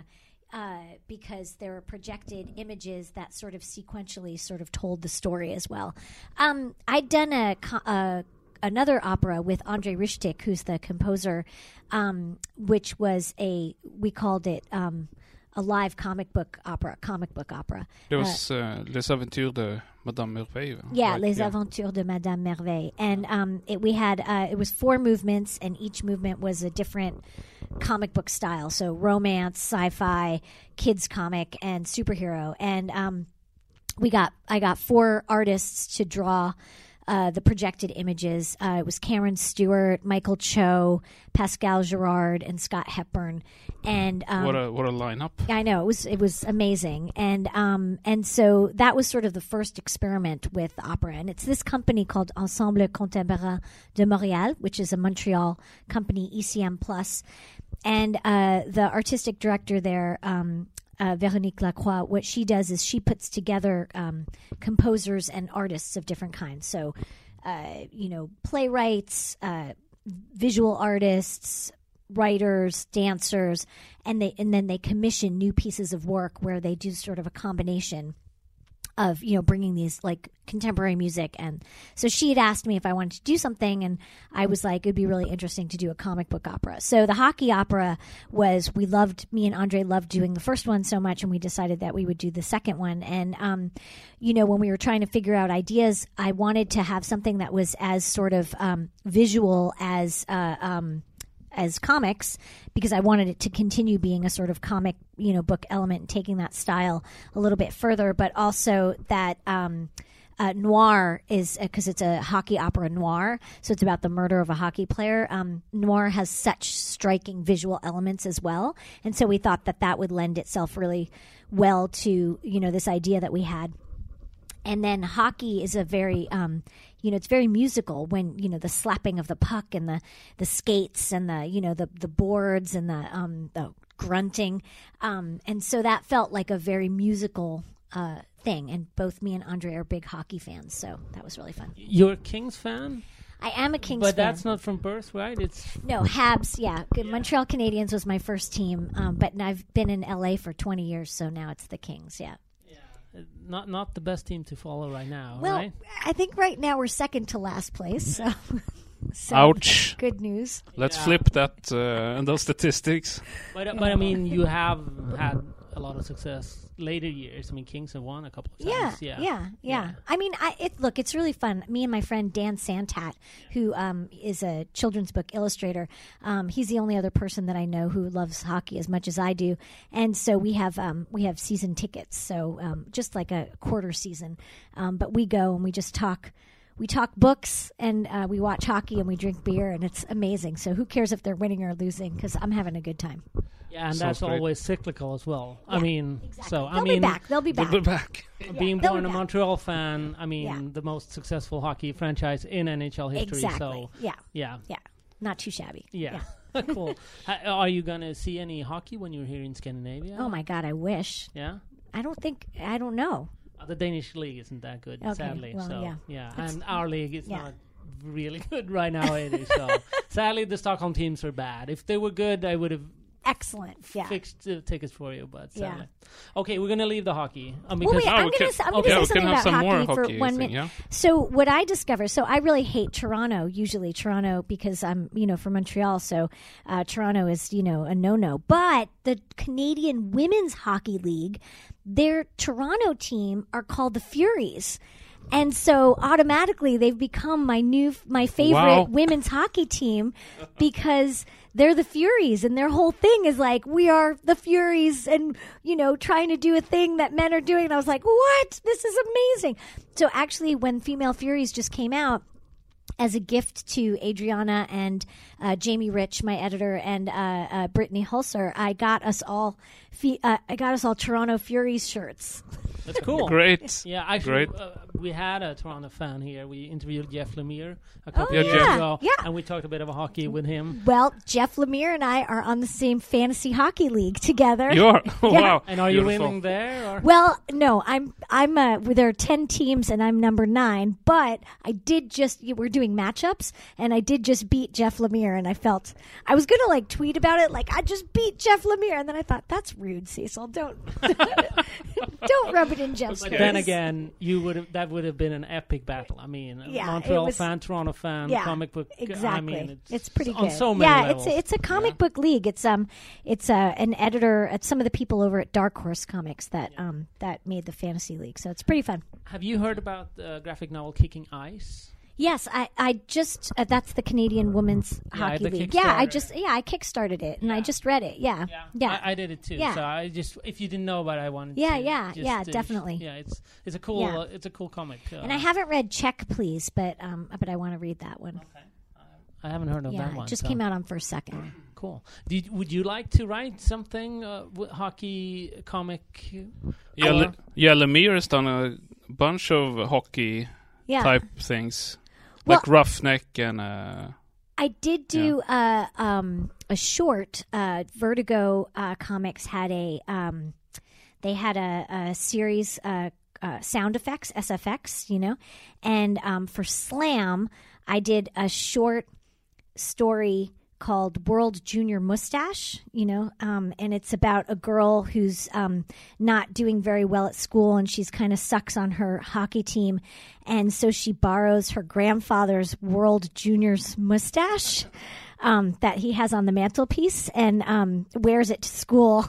uh, because there were projected images that sort of sequentially sort of told the story as well. Um, I'd done a, co- a another opera with Andrei Rishtik, who's the composer, um, which was a we called it. Um, a live comic book opera, comic book opera. It was uh, Les Aventures de Madame Merveille. Yeah, right? Les yeah. Aventures de Madame Merveille. And um, it, we had, uh, it was four movements, and each movement was a different comic book style. So romance, sci-fi, kids comic, and superhero. And um, we got, I got four artists to draw Uh, the projected images. Uh, it was Cameron Stewart, Michael Cho, Pascal Girard, and Scott Hepburn. And um, what a what a lineup! I know it was it was amazing, and um, and so that was sort of the first experiment with opera. And it's this company called Ensemble Contemporain de Montréal, which is a Montreal company, E C M Plus, and uh, the artistic director there. Um, Uh, Véronique Lacroix, what she does is she puts together um, composers and artists of different kinds. So, uh, you know, playwrights, uh, visual artists, writers, dancers, and they and then they commission new pieces of work where they do sort of a combination of, you know, bringing these like contemporary music. And so she had asked me if I wanted to do something, and I was like, it'd be really interesting to do a comic book opera. So the hockey opera was, we loved, me and Andre loved doing the first one so much, and we decided that we would do the second one. And, um, you know, when we were trying to figure out ideas, I wanted to have something that was as sort of um, visual as, uh, um, as comics, because I wanted it to continue being a sort of comic, you know, book element and taking that style a little bit further, but also that um, uh, noir is, because uh, it's a hockey opera noir, so it's about the murder of a hockey player. Um, noir has such striking visual elements as well, and so we thought that that would lend itself really well to, you know, this idea that we had. And then hockey is a very, um, you know, it's very musical when, you know, the slapping of the puck and the, the skates and the, you know, the, the boards and the, um, the grunting. Um, and so that felt like a very musical uh, thing. And both me and Andre are big hockey fans. So that was really fun. You're a Kings fan? I am a Kings but fan. But that's not from birth, right? It's No, Habs, yeah. yeah. Montreal Canadiens was my first team. Um, but I've been in L A for twenty years, so now it's the Kings, yeah. Not not the best team to follow right now, well, right? I think right now we're second to last place. So, so Ouch! Good news. Let's yeah. flip that uh, and those statistics. But uh, but I mean, you have had a lot of success later years. I mean, Kings have won a couple of times. Yeah, Yeah, yeah, yeah. yeah. I mean, I it, look, it's really fun. Me and my friend Dan Santat, who um, is a children's book illustrator, um, he's the only other person that I know who loves hockey as much as I do, and so we have um, we have season tickets. So um, just like a quarter season, um, but we go and we just talk. We talk books, and uh, we watch hockey, and we drink beer, and it's amazing. So who cares if they're winning or losing? Because I'm having a good time. Yeah, and Sounds that's great. always cyclical as well. Yeah, I mean, exactly. so They'll I mean, be back. They'll be back. We'll be back. being They'll born be a back. Montreal fan, I mean, Yeah. the most successful hockey franchise in N H L history. Exactly. So yeah. yeah, Yeah. Not too shabby. yeah, cool. Ha- are you gonna see any hockey when you're here in Scandinavia? Oh my God, I wish. Yeah. I don't think. I don't know. Uh, the Danish league isn't that good, Okay, sadly. well, so yeah. and our league is yeah. not really good right now either. So sadly, the Stockholm teams are bad. If they were good, I would have Excellent. Yeah. fixed the tickets for you. But Yeah. sadly, okay, we're gonna leave the hockey um, Well, because wait, Oh, I'm we going can- to I'm okay, gonna we say can something have about some hockey, more for hockey one thing, minute. yeah? So what I discovered, so I really hate Toronto, usually Toronto, because I'm, you know, from Montreal. So uh, Toronto is, you know, a no-no. But the Canadian Women's Hockey League, their Toronto team are called the Furies. And so automatically they've become my new, my favorite Wow. women's hockey team because they're the Furies, and their whole thing is like, we are the Furies, and, you know, trying to do a thing that men are doing. And I was like, what? This is amazing. So actually, when Female Furies just came out, as a gift to Adriana and uh, Jamie Rich, my editor, and uh, uh, Brittany Hulser, I got us all, fe- uh, I got us all Toronto Furies shirts. That's cool. Great. Yeah, actually, Great. uh, we had a Toronto fan here. We interviewed Jeff Lemire a couple Oh, of years yeah. ago, Yeah. and we talked a bit of hockey with him. Well, Jeff Lemire and I are on the same fantasy hockey league together. You are? Oh, Yeah. wow. And are you Beautiful. winning there? Or? Well, no, I'm I'm uh there are ten teams and I'm number nine, but I did just we're doing matchups and I did just beat Jeff Lemire and I felt I was gonna like tweet about it like I just beat Jeff Lemire and then I thought that's rude, Cecil. Don't don't rub it in Jeff's But face. then again, you would have that would have been an epic battle. I mean, a Yeah, Montreal it was- fan, Toronto fan, Yeah, comic book. Exactly. I mean, it's, it's pretty on good. so many yeah, levels. it's a, it's a comic book league. It's um it's uh, an editor at some of the people over at Dark Horse Comics that um that made the fantasy league. So it's pretty fun. Have you heard about the graphic novel Kicking Ice? Yes, I, I just uh, that's the Canadian Women's Yeah, Hockey the League. Yeah, I Kickstarter. just yeah I kickstarted it and I Yeah. just read it. Yeah, yeah, I, I did it too. Yeah. So I just, if you didn't know about it, I wanted Yeah, to. yeah, just yeah, to- definitely. Yeah, it's it's a cool Yeah. uh, it's a cool comic. Uh, and I haven't read Check Please, but um but I want to read that one. Okay. I haven't heard of Yeah, that one. it just so- came out on first second. Cool. Did, would you like to write something uh, w- hockey comic? Yeah, Or- Le- yeah, Lemire has done a bunch of hockey Yeah, type things. Well- Like Roughneck and... Uh, I did do uh, um, a short. Uh, Vertigo uh, Comics had a um, they had a, a series uh, uh, sound effects S F X, you know, and um, for Slam I did a short story called World Junior Mustache, you know, um, and it's about a girl who's um, not doing very well at school and she's kind of sucks on her hockey team. And so she borrows her grandfather's World Junior's mustache um, that he has on the mantelpiece and um, wears it to school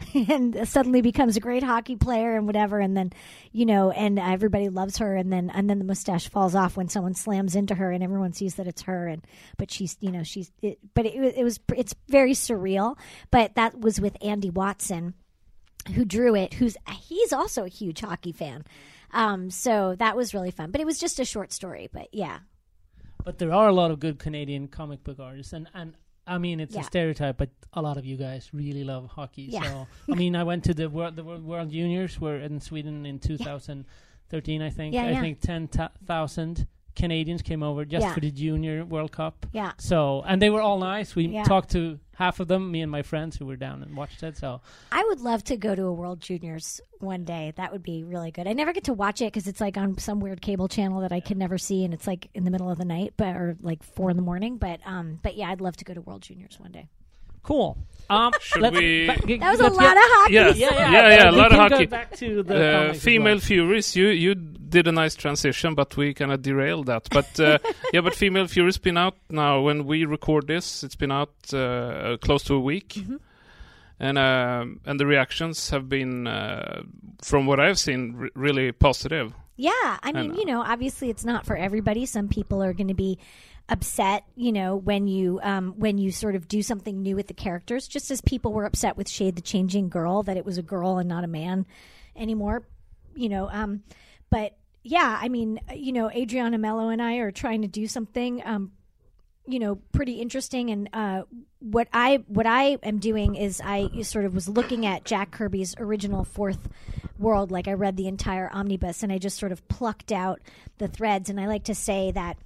and suddenly becomes a great hockey player and whatever. And then, you know, and everybody loves her. And then, and then the mustache falls off when someone slams into her and everyone sees that it's her. And, but she's, you know, she's, it, but it, it was, it's very surreal. But that was with Andy Watson, who drew it, who's, he's also a huge hockey fan. Um, so that was really fun. But it was just a short story. But yeah. But there are a lot of good Canadian comic book artists, and, and I mean it's Yeah. a stereotype, but a lot of you guys really love hockey. Yeah. So I mean, I went to the World the World, World Juniors, were in Sweden in two thousand thirteen, I think. Yeah, I yeah. think ten thousand Canadians came over just Yeah. for the Junior World Cup. Yeah. So and they were all nice. We Yeah. talked to half of them, me and my friends who were down and watched it. So I would love to go to a World Juniors one day. That would be really good. I never get to watch it because it's like on some weird cable channel that I can never see, and it's like in the middle of the night, but or like four in the morning. But um, but yeah, I'd love to go to World Juniors one day. cool. Um, Should let's- we- ba- g- That was a let's lot get- of hockey. Yeah. Yeah, yeah, Yeah, yeah, a we lot of can go hockey. back to the uh, comics as Female well. Furies, you you did a nice transition, but we kind of derailed that. But uh, yeah, but Female Furies been out now. When we record this, it's been out uh, close to a week, Mm-hmm. and um and the reactions have been, uh, from what I've seen, r- really positive. Yeah, I mean, know. you know, obviously it's not for everybody. Some people are going to be upset, you know, when you um, when you sort of do something new with the characters, just as people were upset with Shade the Changing Girl that it was a girl and not a man anymore, you know. Um, but yeah, I mean, you know, Adriana Mello and I are trying to do something, um, you know, pretty interesting. And uh, what I what I am doing is I sort of was looking at Jack Kirby's original Fourth World, like I read the entire omnibus, and I just sort of plucked out the threads. And I like to say that,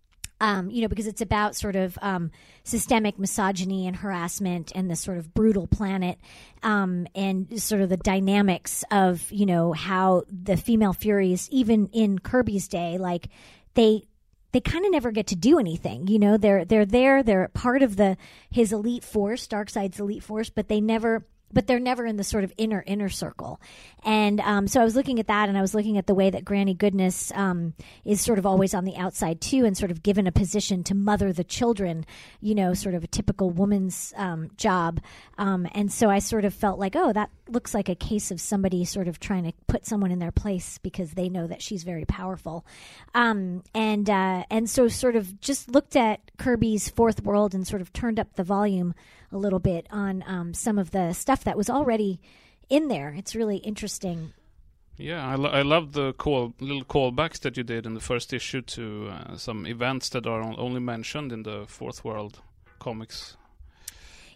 um, you know, because it's about sort of um, systemic misogyny and harassment and this sort of brutal planet, um, and sort of the dynamics of, you know, how the female Furies, even in Kirby's day, like they they kind of never get to do anything. You know, they're they're there, they're part of the his elite force, Darkseid's elite force, but they never. But they're never in the sort of inner, inner circle. And um, so I was looking at that, and I was looking at the way that Granny Goodness um, is sort of always on the outside, too, and sort of given a position to mother the children, you know, sort of a typical woman's um, job. Um, and so I sort of felt like, oh, that looks like a case of somebody sort of trying to put someone in their place because they know that she's very powerful. Um, and uh, and so sort of just looked at Kirby's Fourth World and sort of turned up the volume a little bit on um, some of the stuff that was already in there. It's really interesting. Yeah, I, lo- I love the call little callbacks that you did in the first issue to uh, some events that are on- only mentioned in the Fourth World comics.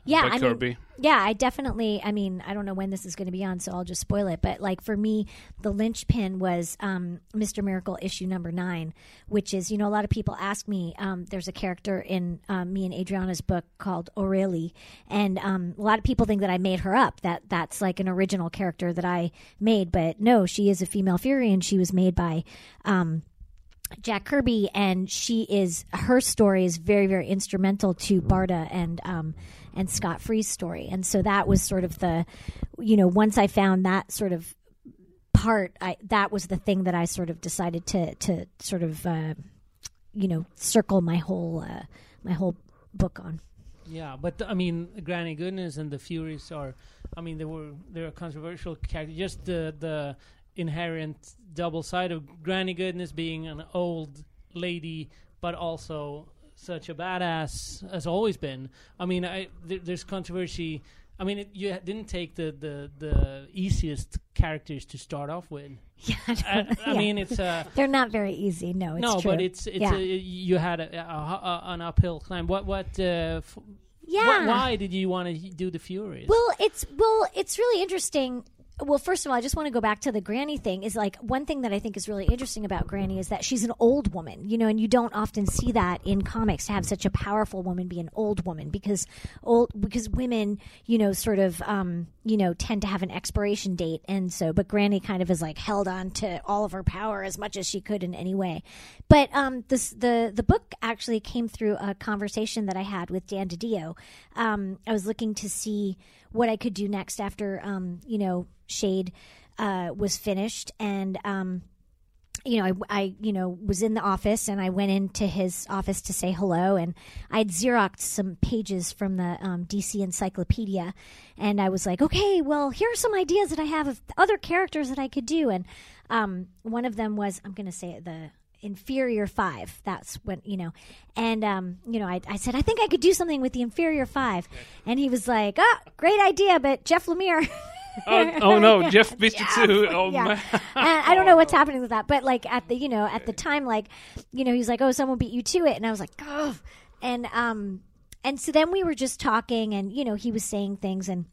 Yeah, by I Kirby. mean, yeah, I definitely, I mean, I don't know when this is going to be on, so I'll just spoil it. But like for me, the linchpin was um, Mister Miracle issue number nine, which is, you know, a lot of people ask me, um, there's a character in um, me and Adriana's book called Aurelie. And um, a lot of people think that I made her up, that that's like an original character that I made. But no, she is a female Fury, and she was made by Um, Jack Kirby, and she is her story is very, very instrumental to Barda and um, and Scott Free's story, and so that was sort of the, you know, once I found that sort of part, I that was the thing that I sort of decided to to sort of uh, you know circle my whole uh, my whole book on. Yeah, but I mean, Granny Goodness and the Furies are, I mean, they were they're a controversial character. Just the the inherent double side of Granny Goodness being an old lady, but also such a badass has always been. I mean, I th- there's controversy. I mean, it, you didn't take the, the, the easiest characters to start off with. Yeah, I, I yeah. mean, it's uh, they're not very easy. No, it's no, true. but it's it's yeah. a, you had a, a, a, an uphill climb. What what? Uh, f- yeah. Wh- why did you want to do the Furies? Well, it's well, it's really interesting. Well, first of all, I just want to go back to the Granny thing. Is like one thing that I think is really interesting about Granny is that she's an old woman, you know, and you don't often see that in comics, to have such a powerful woman be an old woman, because old because women, you know, sort of, um, you know, tend to have an expiration date, and so, but Granny kind of is like held on to all of her power as much as she could in any way. But um, this the the book actually came through a conversation that I had with Dan DiDio. Um, I was looking to see what I could do next after, um, you know, Shade uh, was finished, and um, you know, I, I, you know, was in the office, and I went into his office to say hello, and I'd Xeroxed some pages from the um, D C Encyclopedia, and I was like, okay, well, here are some ideas that I have of other characters that I could do, and um, one of them was, I'm going to say it, the Inferior Five. That's when, you know, and um, you know, I, I said, I think I could do something with the Inferior Five, and he was like, oh, great idea, but Jeff Lemire. oh, oh no, Jeff beat you Jeff. too. Oh yeah. man. And I don't know what's happening with that, but like at the, you know, at the time, like, you know, he's like, oh, someone beat you to it, and I was like, oh, and um, and so then we were just talking, and you know, he was saying things, and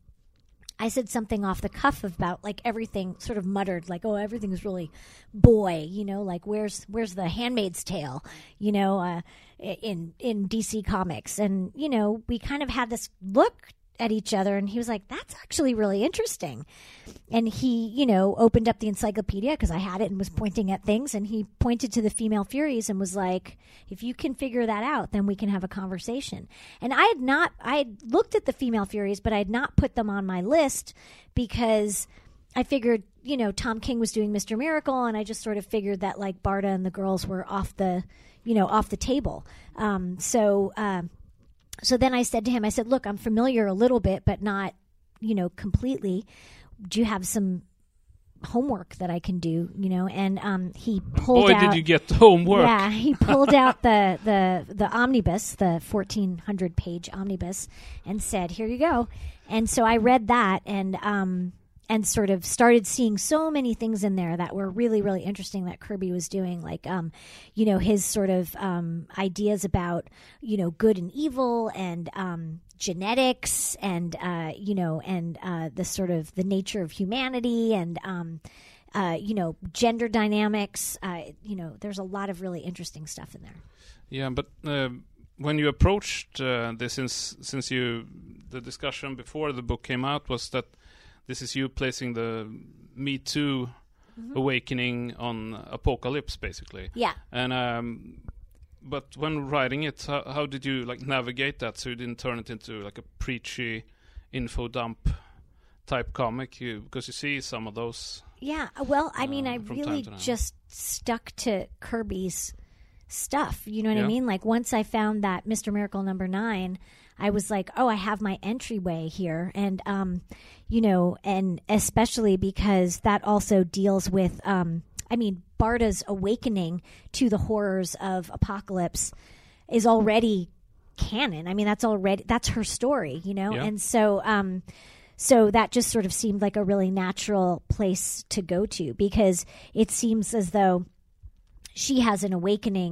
I said something off the cuff about like everything, sort of muttered like, oh, everything's really boy, you know, like where's where's the Handmaid's Tale, you know, uh, in in D C Comics, and you know, we kind of had this look at each other, and he was like, that's actually really interesting. And he, you know, opened up the encyclopedia, because I had it, and was pointing at things, and he pointed to the female Furies and was like, if you can figure that out, then we can have a conversation. And I had not, I had looked at the female Furies, but I had not put them on my list, because I figured, you know, Tom King was doing Mister Miracle, and I just sort of figured that like Barda and the girls were off the, you know, off the table. Um, so, um, So then I said to him, I said, look, I'm familiar a little bit, but not, you know, completely. Do you have some homework that I can do, you know? And um, he pulled Boy, out... did you get homework. Yeah, he pulled out the, the, the omnibus, the fourteen hundred page omnibus, and said, here you go. And so I read that, and... Um, and sort of started seeing so many things in there that were really, really interesting that Kirby was doing, like, um, you know, his sort of um, ideas about, you know, good and evil, and um, genetics, and, uh, you know, and uh, the sort of the nature of humanity, and, um, uh, you know, gender dynamics. Uh, you know, there's a lot of really interesting stuff in there. Yeah, but uh, when you approached uh, this, since, since you, the discussion before the book came out was that this is you placing the Me Too mm-hmm. awakening on Apocalypse, basically. Yeah. And um, but when writing it, how, how did you like navigate that so you didn't turn it into like a preachy info dump type comic? You, because you see some of those. Yeah. Well, I mean, uh, I really just stuck to Kirby's stuff. You know what yeah. I mean? Like once I found that Mister Miracle number nine, I was like, oh, I have my entryway here. And, um, you know, and especially because that also deals with, um, I mean, Barda's awakening to the horrors of Apocalypse is already canon. I mean, that's already, that's her story, you know? Yeah. And so, um, so that just sort of seemed like a really natural place to go to, because it seems as though she has an awakening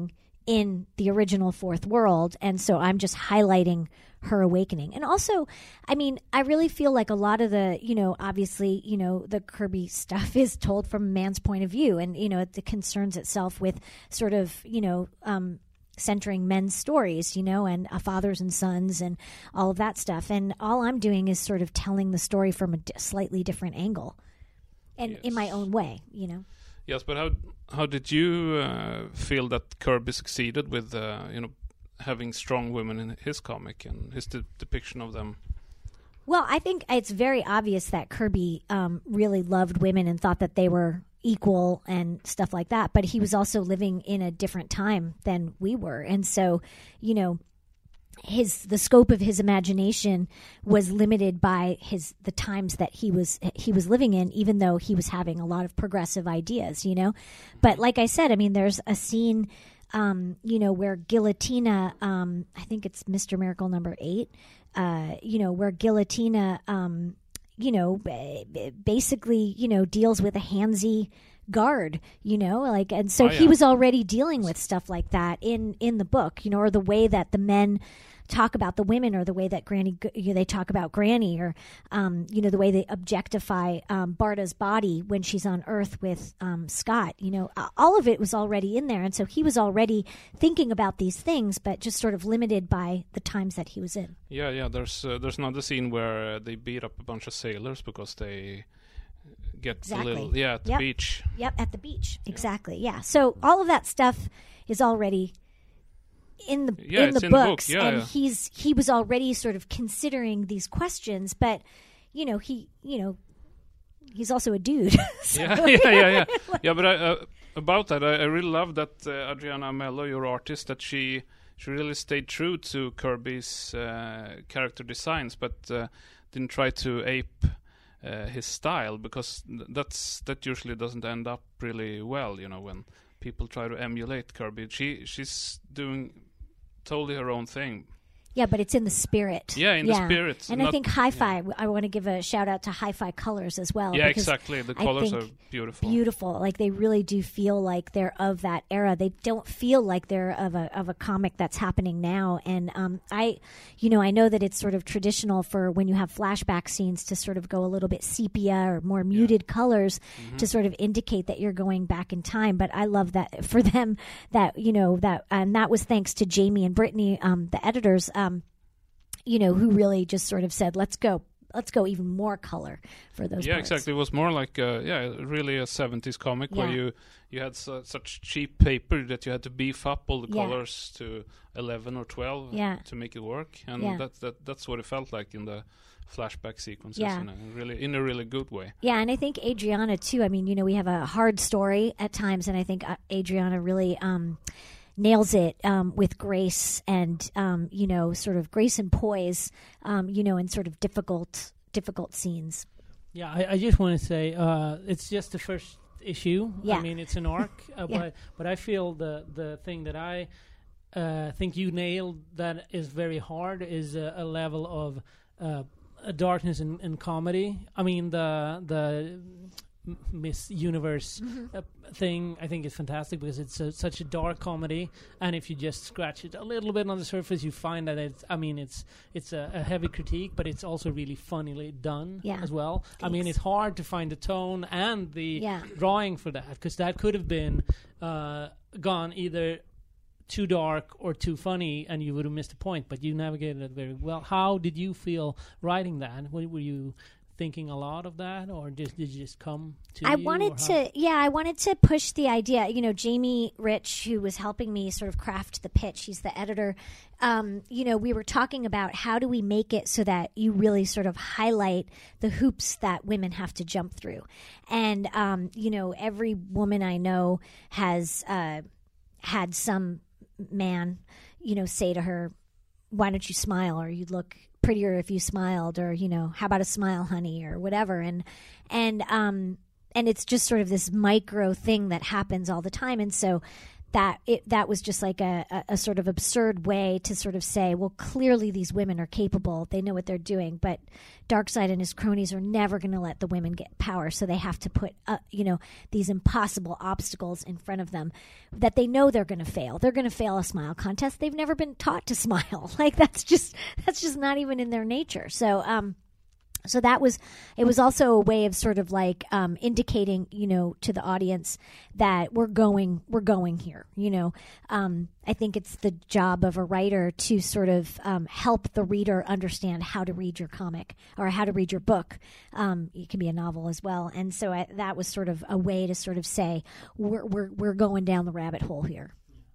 in the original Fourth World. And so I'm just highlighting her awakening. And also, I mean, I really feel like a lot of the, you know, obviously, you know, the Kirby stuff is told from a man's point of view. And, you know, it, it concerns itself with sort of, you know, um, centering men's stories, you know, and uh, fathers and sons and all of that stuff. And all I'm doing is sort of telling the story from a d- slightly different angle and Yes. in my own way, you know. Yes, but how how did you uh, feel that Kirby succeeded with uh, you know having strong women in his comic and his de- depiction of them? Well, I think it's very obvious that Kirby um, really loved women and thought that they were equal and stuff like that. But he was also living in a different time than we were. And so, you know, his the scope of his imagination was limited by his the times that he was he was living in, even though he was having a lot of progressive ideas, you know. But like I said, I mean, there's a scene, um, you know, where Guillotina, um, I think it's Mister Miracle number eight, uh, you know, where Guillotina, um, you know, basically, you know, deals with a handsy guard, you know, like, and so Oh, he yeah. was already dealing with stuff like that in in the book, you know, or the way that the men talk about the women, or the way that Granny, you know, they talk about Granny, or um, you know, the way they objectify um, Barda's body when she's on Earth with um, Scott. You know, all of it was already in there, and so he was already thinking about these things, but just sort of limited by the times that he was in. Yeah, yeah. There's uh, there's another scene where uh, they beat up a bunch of sailors because they get Exactly. a little yeah at the Yep. beach. Yep, at the beach, exactly. Yeah, so all of that stuff is already in the Yeah, in it's the in the book, books, yeah, and yeah. he's he was already sort of considering these questions, but you know he you know he's also a dude. So- Yeah, yeah, yeah, yeah. Yeah, but I, uh, about that, I, I really love that uh, Adriana Mello, your artist, that she she really stayed true to Kirby's uh, character designs, but uh, didn't try to ape uh, his style, because th- that's that usually doesn't end up really well, you know, when people try to emulate Kirby. She she's doing totally her own thing. Yeah, but it's in the spirit. Yeah, in the spirit, And I not- think Hi-Fi, I want to give a shout out to Hi-Fi Colors as well. Yeah, because exactly. The I colors think are beautiful. Beautiful. Like they really do feel like they're of that era. They don't feel like they're of a of a comic that's happening now. And um, I, you know, I know that it's sort of traditional for when you have flashback scenes to sort of go a little bit sepia or more muted colors Mm-hmm. to sort of indicate that you're going back in time. But I love that for them that, you know, that, and that was thanks to Jamie and Brittany, um, the editors, um, you know, who really just sort of said, let's go, let's go even more color for those Yeah, parts. exactly. It was more like uh, yeah, really a seventies comic where Yeah. you you had su- such cheap paper that you had to beef up all the Yeah. colors to eleven or twelve Yeah. to make it work, and Yeah. that that that's what it felt like in the flashback sequences, Yeah. in a really in a really good way. Yeah, and I think Adriana too. I mean, you know, we have a hard story at times, and I think uh, Adriana really um, nails it um, with grace and um, you know, sort of grace and poise, um, you know, in sort of difficult, difficult scenes. Yeah, I, I just want to say uh, it's just the first issue. Yeah. I mean, it's an arc, uh, Yeah. but but I feel the the thing that I uh, think you nailed that is very hard is a, a level of uh, a darkness and, and comedy. I mean, the the M- Miss Universe uh, thing I think is fantastic because it's a, such a dark comedy, and if you just scratch it a little bit on the surface, you find that it's. I mean, it's it's a, a heavy critique, but it's also really funnily done Yeah. as well. I mean, Thanks. it's hard to find the tone and the Yeah. drawing for that because that could have been uh, gone either too dark or too funny, and you would have missed the point. But you navigated it very well. How did you feel writing that? Were, were you thinking a lot of that, or just did it just come to I you? wanted or how? to, yeah, I wanted to push the idea. You know, Jamie Rich, who was helping me sort of craft the pitch, he's the editor. Um, you know, we were talking about how do we make it so that you really sort of highlight the hoops that women have to jump through. And, um, you know, every woman I know has uh, had some man, you know, say to her, why don't you smile, or you'd look prettier if you smiled, or, you know, how about a smile, honey, or whatever. And and um and it's just sort of this micro thing that happens all the time. And so that it that was just like a, a, a sort of absurd way to sort of say, well, clearly these women are capable, they know what they're doing, but Darkseid and his cronies are never going to let the women get power, so they have to put uh, you know these impossible obstacles in front of them that they know they're going to fail. They're going to fail a smile contest. They've never been taught to smile. Like that's just that's just not even in their nature. So um So that was, it was also a way of sort of like um, indicating, you know, to the audience that we're going, we're going here. You know, um, I think it's the job of a writer to sort of um, help the reader understand how to read your comic or how to read your book. Um, it can be a novel as well, and so I, that was sort of a way to sort of say we're we're we're going down the rabbit hole here.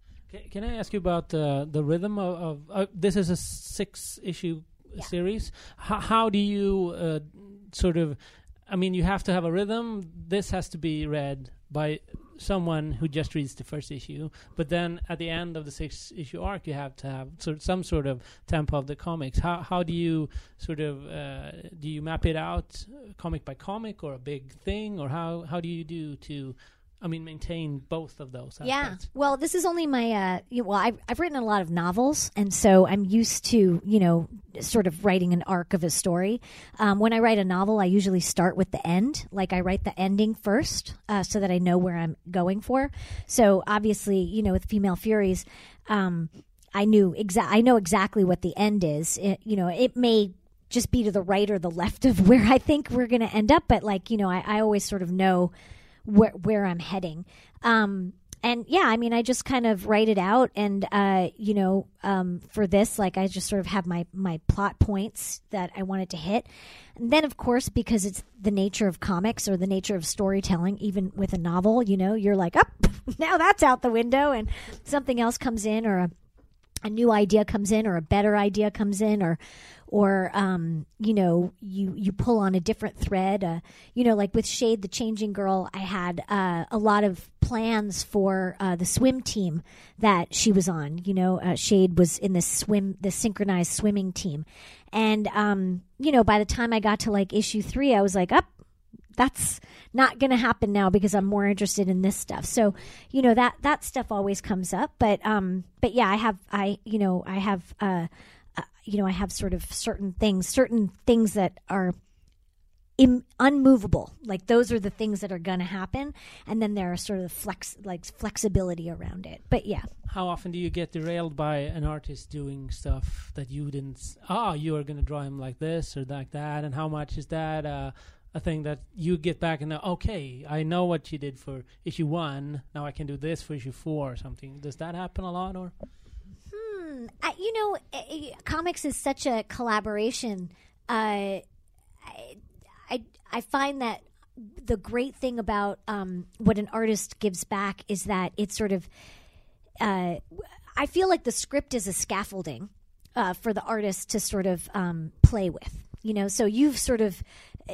Can I ask you about uh, the rhythm of, of uh, this is a six issue. Yeah. Series. How, how do you uh, sort of, I mean, you have to have a rhythm. This has to be read by someone who just reads the first issue. But then at the end of the six issue arc, you have to have sort of some sort of tempo of the comics. How how do you sort of, uh, do you map it out comic by comic or a big thing? Or how, how do you do to, I mean, maintain both of those aspects? Yeah. Well, this is only my, uh, you know, well, I've, I've written a lot of novels, and so I'm used to, you know, sort of writing an arc of a story. Um, when I write a novel, I usually start with the end. Like I write the ending first uh, so that I know where I'm going for. So obviously, you know, with Female Furies, um, I knew exa- I know exactly what the end is. It, you know, it may just be to the right or the left of where I think we're going to end up, but like, you know, I, I always sort of know where where I'm heading. Um, and yeah, I mean, I just kind of write it out, and uh, you know, um, for this, like I just sort of have my, my plot points that I wanted to hit. And then of course, because it's the nature of comics or the nature of storytelling, even with a novel, you know, you're like, oh, now that's out the window, and something else comes in, or a, a new idea comes in, or a better idea comes in, or or, um, you know, you, you pull on a different thread. Uh, you know, like with Shade, the Changing Girl, I had uh, a lot of plans for uh, the swim team that she was on. You know, uh, Shade was in this swim, the synchronized swimming team. And, um, you know, by the time I got to like issue three, I was like, up. Oh, that's not going to happen now because I'm more interested in this stuff. So, you know, that, that stuff always comes up. But, um, but yeah, I have, I, you know, I have, uh, uh, you know, I have sort of certain things, certain things that are im- unmovable. Like those are the things that are going to happen. And then there are sort of flex, like flexibility around it. But yeah. How often do you get derailed by an artist doing stuff that you didn't, ah, you are going to draw him like this or like that? And how much is that, uh, a thing that you get back and know, okay, I know what you did for issue one. Now I can do this for issue four or something. Does that happen a lot, or? Hmm. I, you know, uh, comics is such a collaboration. Uh, I, I I find that the great thing about um, what an artist gives back is that it's sort of. Uh, I feel like the script is a scaffolding uh, for the artist to sort of um, play with. You know, so you've sort of,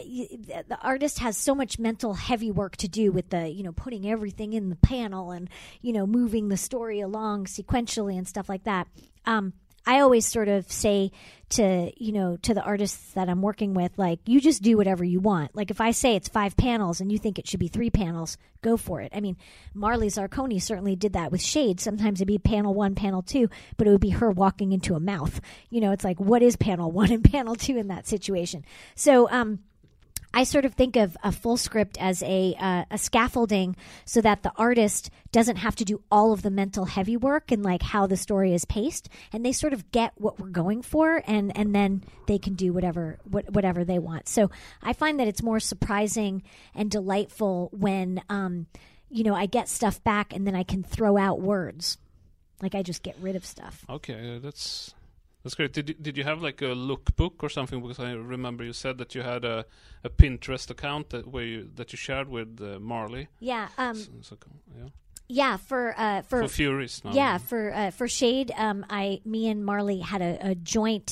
the artist has so much mental heavy work to do with the, you know, putting everything in the panel and, you know, moving the story along sequentially and stuff like that. Um, I always sort of say to, you know, to the artists that I'm working with, like, you just do whatever you want. Like, if I say it's five panels and you think it should be three panels, go for it. I mean, Marley Zarconi certainly did that with Shade. Sometimes it'd be panel one, panel two, but it would be her walking into a mouth. You know, it's like, what is panel one and panel two in that situation? So, um, I sort of think of a full script as a uh, a scaffolding so that the artist doesn't have to do all of the mental heavy work and like how the story is paced, and they sort of get what we're going for, and, and then they can do whatever what, whatever they want. So I find that it's more surprising and delightful when um, you know, I get stuff back and then I can throw out words, like I just get rid of stuff. Okay, uh, that's. That's great. Did you, did you have like a lookbook or something? Because I remember you said that you had a, a Pinterest account that where you, that you shared with uh, Marley. Yeah. Um, so, so, yeah. Yeah. For uh, for, for Furies. Now. Yeah. For uh, for Shade, um, I me and Marley had a, a joint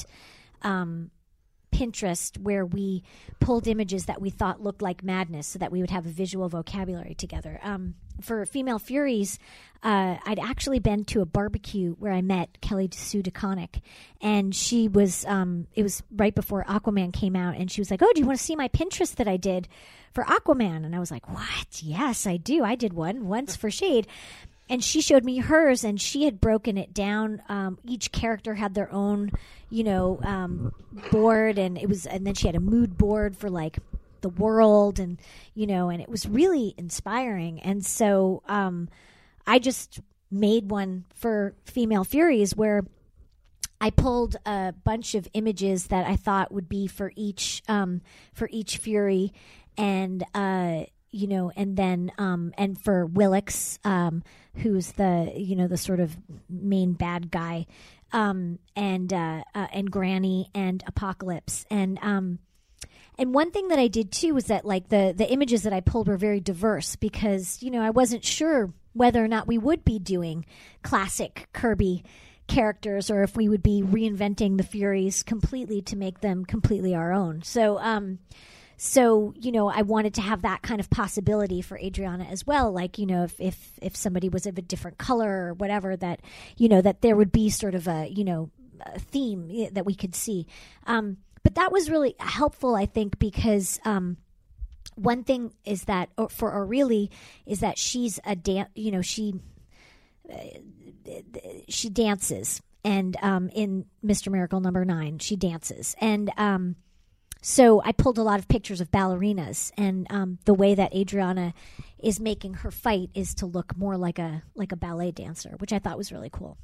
um, Pinterest where we pulled images that we thought looked like madness, so that we would have a visual vocabulary together. Um, for Female Furies, uh, I'd actually been to a barbecue where I met Kelly Sue DeConnick, and she was, um, it was right before Aquaman came out, and she was like, oh, do you want to see my Pinterest that I did for Aquaman? And I was like, what? Yes, I do. I did one once for Shade. and she showed me hers, and she had broken it down. Um, each character had their own, you know, um, board, and it was, and then she had a mood board for like the world, and you know, and it was really inspiring. And so um, I just made one for Female Furies where I pulled a bunch of images that I thought would be for each um, for each Fury, and uh, you know, and then um, and for Willix, um, who's the you know the sort of main bad guy, um, and uh, uh, and Granny and Apocalypse, and um, and one thing that I did too was that like the the images that I pulled were very diverse because you know I wasn't sure whether or not we would be doing classic Kirby characters or if we would be reinventing the Furies completely to make them completely our own. So, um, so you know, I wanted to have that kind of possibility for Adriana as well. Like, you know, if if if somebody was of a different color or whatever, that you know that there would be sort of a you know a theme that we could see. Um, but that was really helpful, I think, because um, one thing is that for Aurelie is that she's a dan- you know she. Uh, she dances, and um, in Mister Miracle number nine, she dances. And um, so I pulled a lot of pictures of ballerinas, and um, the way that Adriana is making her fight is to look more like a like a ballet dancer, which I thought was really cool.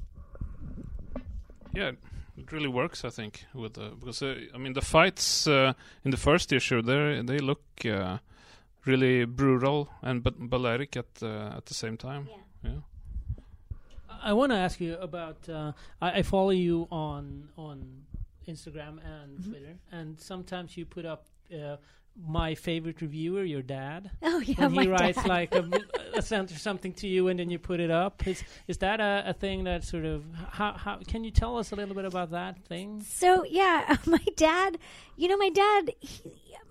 Yeah, it really works, I think, with the, because uh, I mean the fights uh, in the first issue, they they look uh, really brutal and but balleric at uh, at the same time. Yeah. yeah. I want to ask you about. Uh, I, I follow you on on Instagram and mm-hmm. Twitter, and sometimes you put up uh, my favorite reviewer, your dad. Oh yeah, when my he writes dad. like a, a something to you, and then you put it up. Is is that a, a thing that sort of how how can you tell us a little bit about that thing? So yeah, my dad. You know, my dad. He,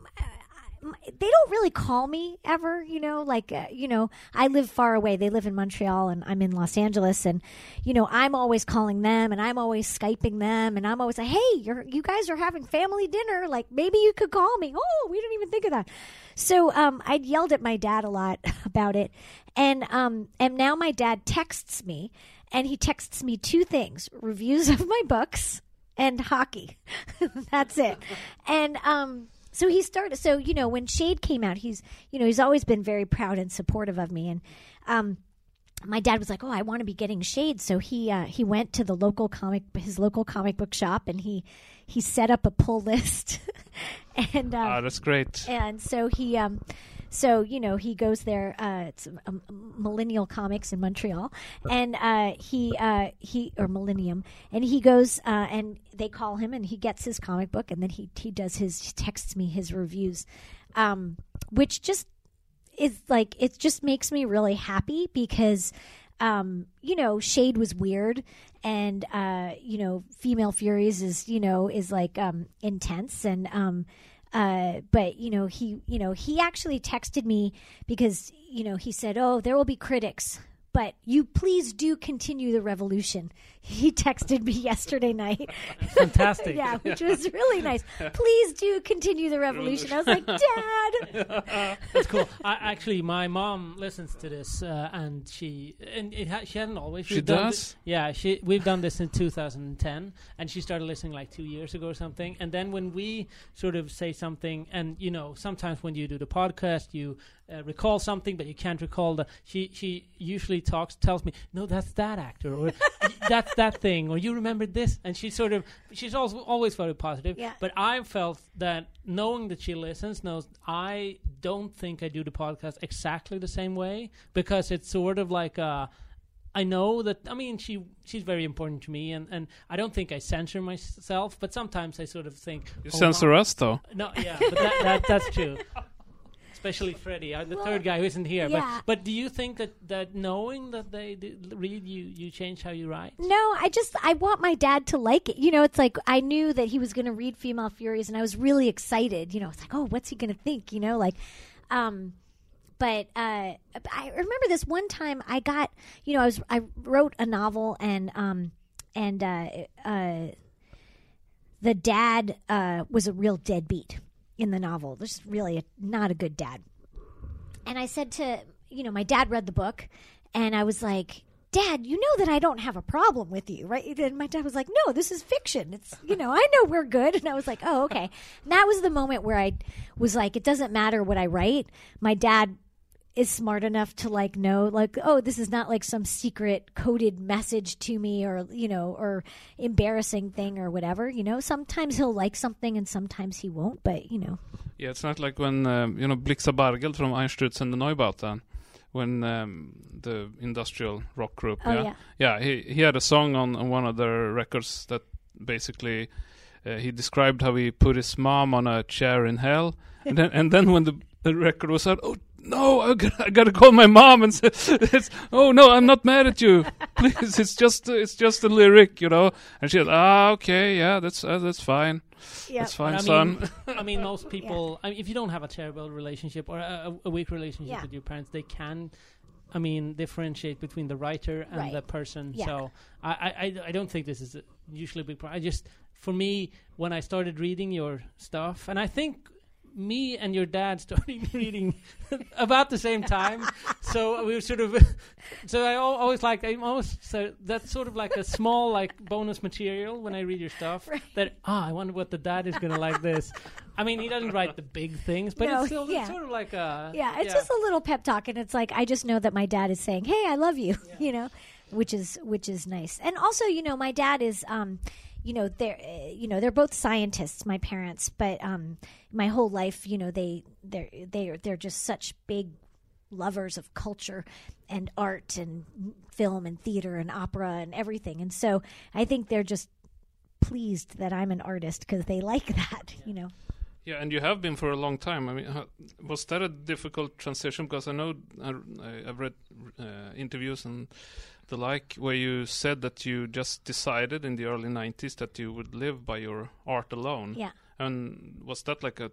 they don't really call me ever, you know, like, uh, you know, I live far away. They live in Montreal and I'm in Los Angeles. And, you know, I'm always calling them and I'm always Skyping them. And I'm always like, hey, you're, you guys are having family dinner. Like, maybe you could call me. Oh, we didn't even think of that. So um, I'd yelled at my dad a lot about it. And, um, and now my dad texts me and he texts me two things, reviews of my books and hockey. That's it. And, um, So he started, so, you know, when Shade came out, he's, you know, he's always been very proud and supportive of me. And um, my dad was like, oh, I want to be getting Shade. So he uh, he went to the local comic, his local comic book shop, and he, he set up a pull list. and um, Ah, that's great. And so he, um, so, you know, he goes there, uh, it's um, Millennial Comics in Montreal, and uh, he, uh, he, or Millennium, and he goes, uh, and they call him, and he gets his comic book, and then he, he does his, he texts me his reviews, um, which just is like, it just makes me really happy because, um, you know, Shade was weird, and, uh, you know, Female Furies is, you know, is like, um, intense, and, um, Uh, but, you know, he, you know, he actually texted me because, you know, he said, oh, there will be critics, but you please do continue the revolution. He texted me yesterday night. Fantastic. Yeah, which was really nice. Please do continue the revolution. I was like, Dad. That's cool. I, actually, my mom listens to this, uh, and she and it ha- she hasn't always. She we've done does? thi- yeah, she we've done this in two thousand ten, and she started listening like two years ago or something. And then when we sort of say something, and you know, sometimes when you do the podcast, you uh, recall something, but you can't recall the. She she usually talks tells me, no, that's that actor, or that's that thing, or you remembered this, and she sort of she's also always very positive. Yeah. But I felt that knowing that she listens, knows I don't think I do the podcast exactly the same way, because it's sort of like uh I know that, I mean, she she's very important to me, and, and I don't think I censor myself, but sometimes I sort of think... You oh, censor wow. us, though. No, yeah, but that, that, that's true. Especially Freddie, uh, the Well, third guy who isn't here. yeah. But but do you think that, that knowing that they d- read you, you change how you write? No, I just, I want my dad to like it. You know, it's like, I knew that he was going to read Female Furies, and I was really excited. You know, it's like, oh, what's he going to think? You know, like, um... But uh, I remember this one time I got, you know, I was I wrote a novel, and um and uh, uh, the dad uh, was a real deadbeat in the novel. Just really a, not a good dad. And I said to, you know, my dad read the book, And I was like, Dad, you know that I don't have a problem with you, right? And my dad was like, no, this is fiction. It's, you know, I know we're good. And I was like, oh, okay. And that was the moment where I was like, it doesn't matter what I write. My dad is smart enough to like know, like, oh, this is not like some secret coded message to me, or, you know, or embarrassing thing or whatever. You know, sometimes he'll like something and sometimes he won't, but, you know. Yeah, it's not like when, um, you know, Blixa Bargeld from Einstürz and the Neubauten, when um, the industrial rock group, Oh, yeah, yeah. yeah, he he had a song on, on one of their records that basically uh, he described how he put his mom on a chair in hell, and then and then when the, the record was out, oh no, I gotta, I gotta call my mom and say, it's, oh no, I'm not mad at you, please, it's just it's just a lyric, you know, and she said, ah, okay, yeah, that's uh, that's fine. Yeah. That's fine, I son. mean, I mean, most people. I mean, if you don't have a terrible relationship or a, a weak relationship Yeah. with your parents, they can, I mean, differentiate between the writer and Right. the person. Yeah. So I, I, I don't think this is a usually a big problem. I just, for me, when I started reading your stuff, and I think me and your dad started reading about the same time, so we were sort of, so I al- always like, I'm almost, so that's sort of like a small like bonus material when I read your stuff. Right. That ah, I wonder what the dad is gonna like this. I mean, he doesn't write the big things, but No, it's still yeah. it's sort of like a Yeah, it's just a little pep talk, and it's like I just know that my dad is saying, "Hey, I love you," you know, which is which is nice. And also, you know, my dad is, um, you know, they're uh, you know they're both scientists, my parents, but um, my whole life, you know, they they're they're they're just such big lovers of culture and art and film and theater and opera and everything, and so I think they're just pleased that I'm an artist because they like that, you know. Yeah, and you have been for a long time. I mean, how, was that a difficult transition? Because I know I, I've read uh, interviews and the like where you said that you just decided in the early nineties that you would live by your art alone. Yeah. And was that like a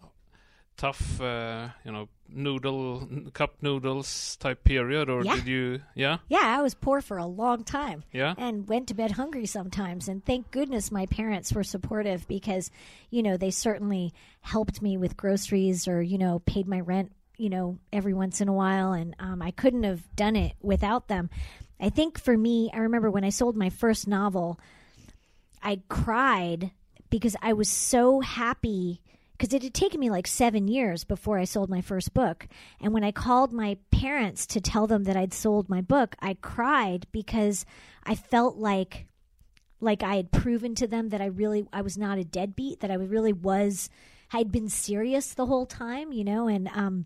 tough, uh, you know, noodle, cup noodles type period, or Yeah. did you? Yeah. Yeah, I was poor for a long time. Yeah. And went to bed hungry sometimes. And thank goodness my parents were supportive because, you know, they certainly helped me with groceries or, you know, paid my rent, you know, every once in a while. And um, I couldn't have done it without them. I think for me, I remember when I sold my first novel, I cried because I was so happy because it had taken me like seven years before I sold my first book. And when I called my parents to tell them that I'd sold my book, I cried because I felt like like I had proven to them that I really, I was not a deadbeat, that I really was, I'd been serious the whole time, you know, and, um,